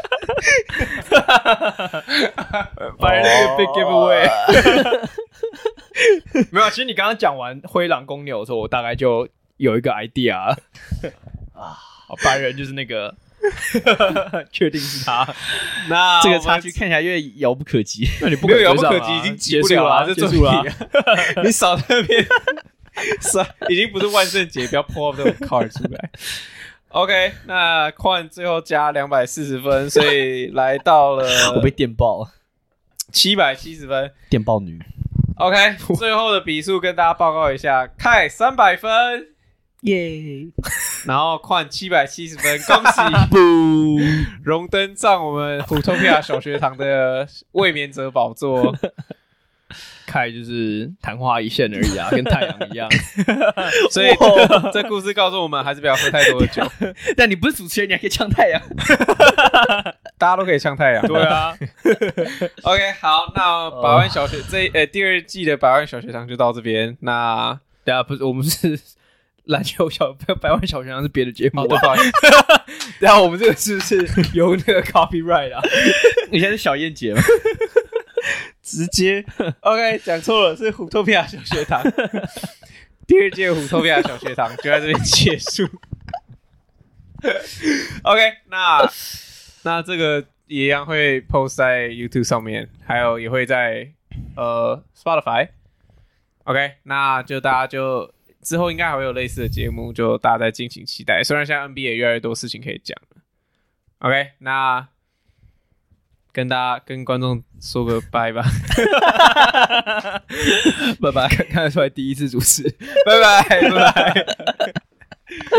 白人那個 big giveaway。沒有，其實你剛剛講完灰狼公牛的時候，我大概就有一個 idea 了。白人就是那個，確定是他。 那這個差距看起來越遙不可及。 那你不沒有遙不可及，已經結束了， 結束了。 你少在那邊，已經不是萬聖節，不要 pull up 這種 card 出來。OK， 那Quan最後加240分，所以來到了我被電爆了 770分， 電爆女。 OK， 最後的比數跟大家報告一下，Kai 300分。 耶！ 然後Quan 770分，恭喜榮登上我們虎頭皮亞小學堂的衛冕者寶座。 Kai 就是曇花一現而已啊，跟太陽一樣。 所以這故事告訴我們，還是不要喝太多的酒。 但你不是主持人，你還可以嗆太陽。 大家都可以嗆太陽。 對啊。 OK， 好，那百萬小學第二季的百萬小學堂就到這邊。那等下不是我們是。籃球百萬小學堂是別的節目， 不好意思。 然後我們這個是不是有那個 copyright 啊？ 你現在是小燕姐嗎？ 直接 OK 講錯了，是虎頭皮亞小學堂。第2屆虎頭皮亞小學堂就在這邊結束。OK， 那這個也一樣會 post 在 YouTube 上面，還有也會在Spotify。OK， 那就大家就。之後應該還會有類似的節目，就大家再敬請期待。雖然現在 NBA 越來越多事情可以講了。OK， 那跟觀眾說個拜吧。 拜拜，看得出來第一次主持， 拜拜。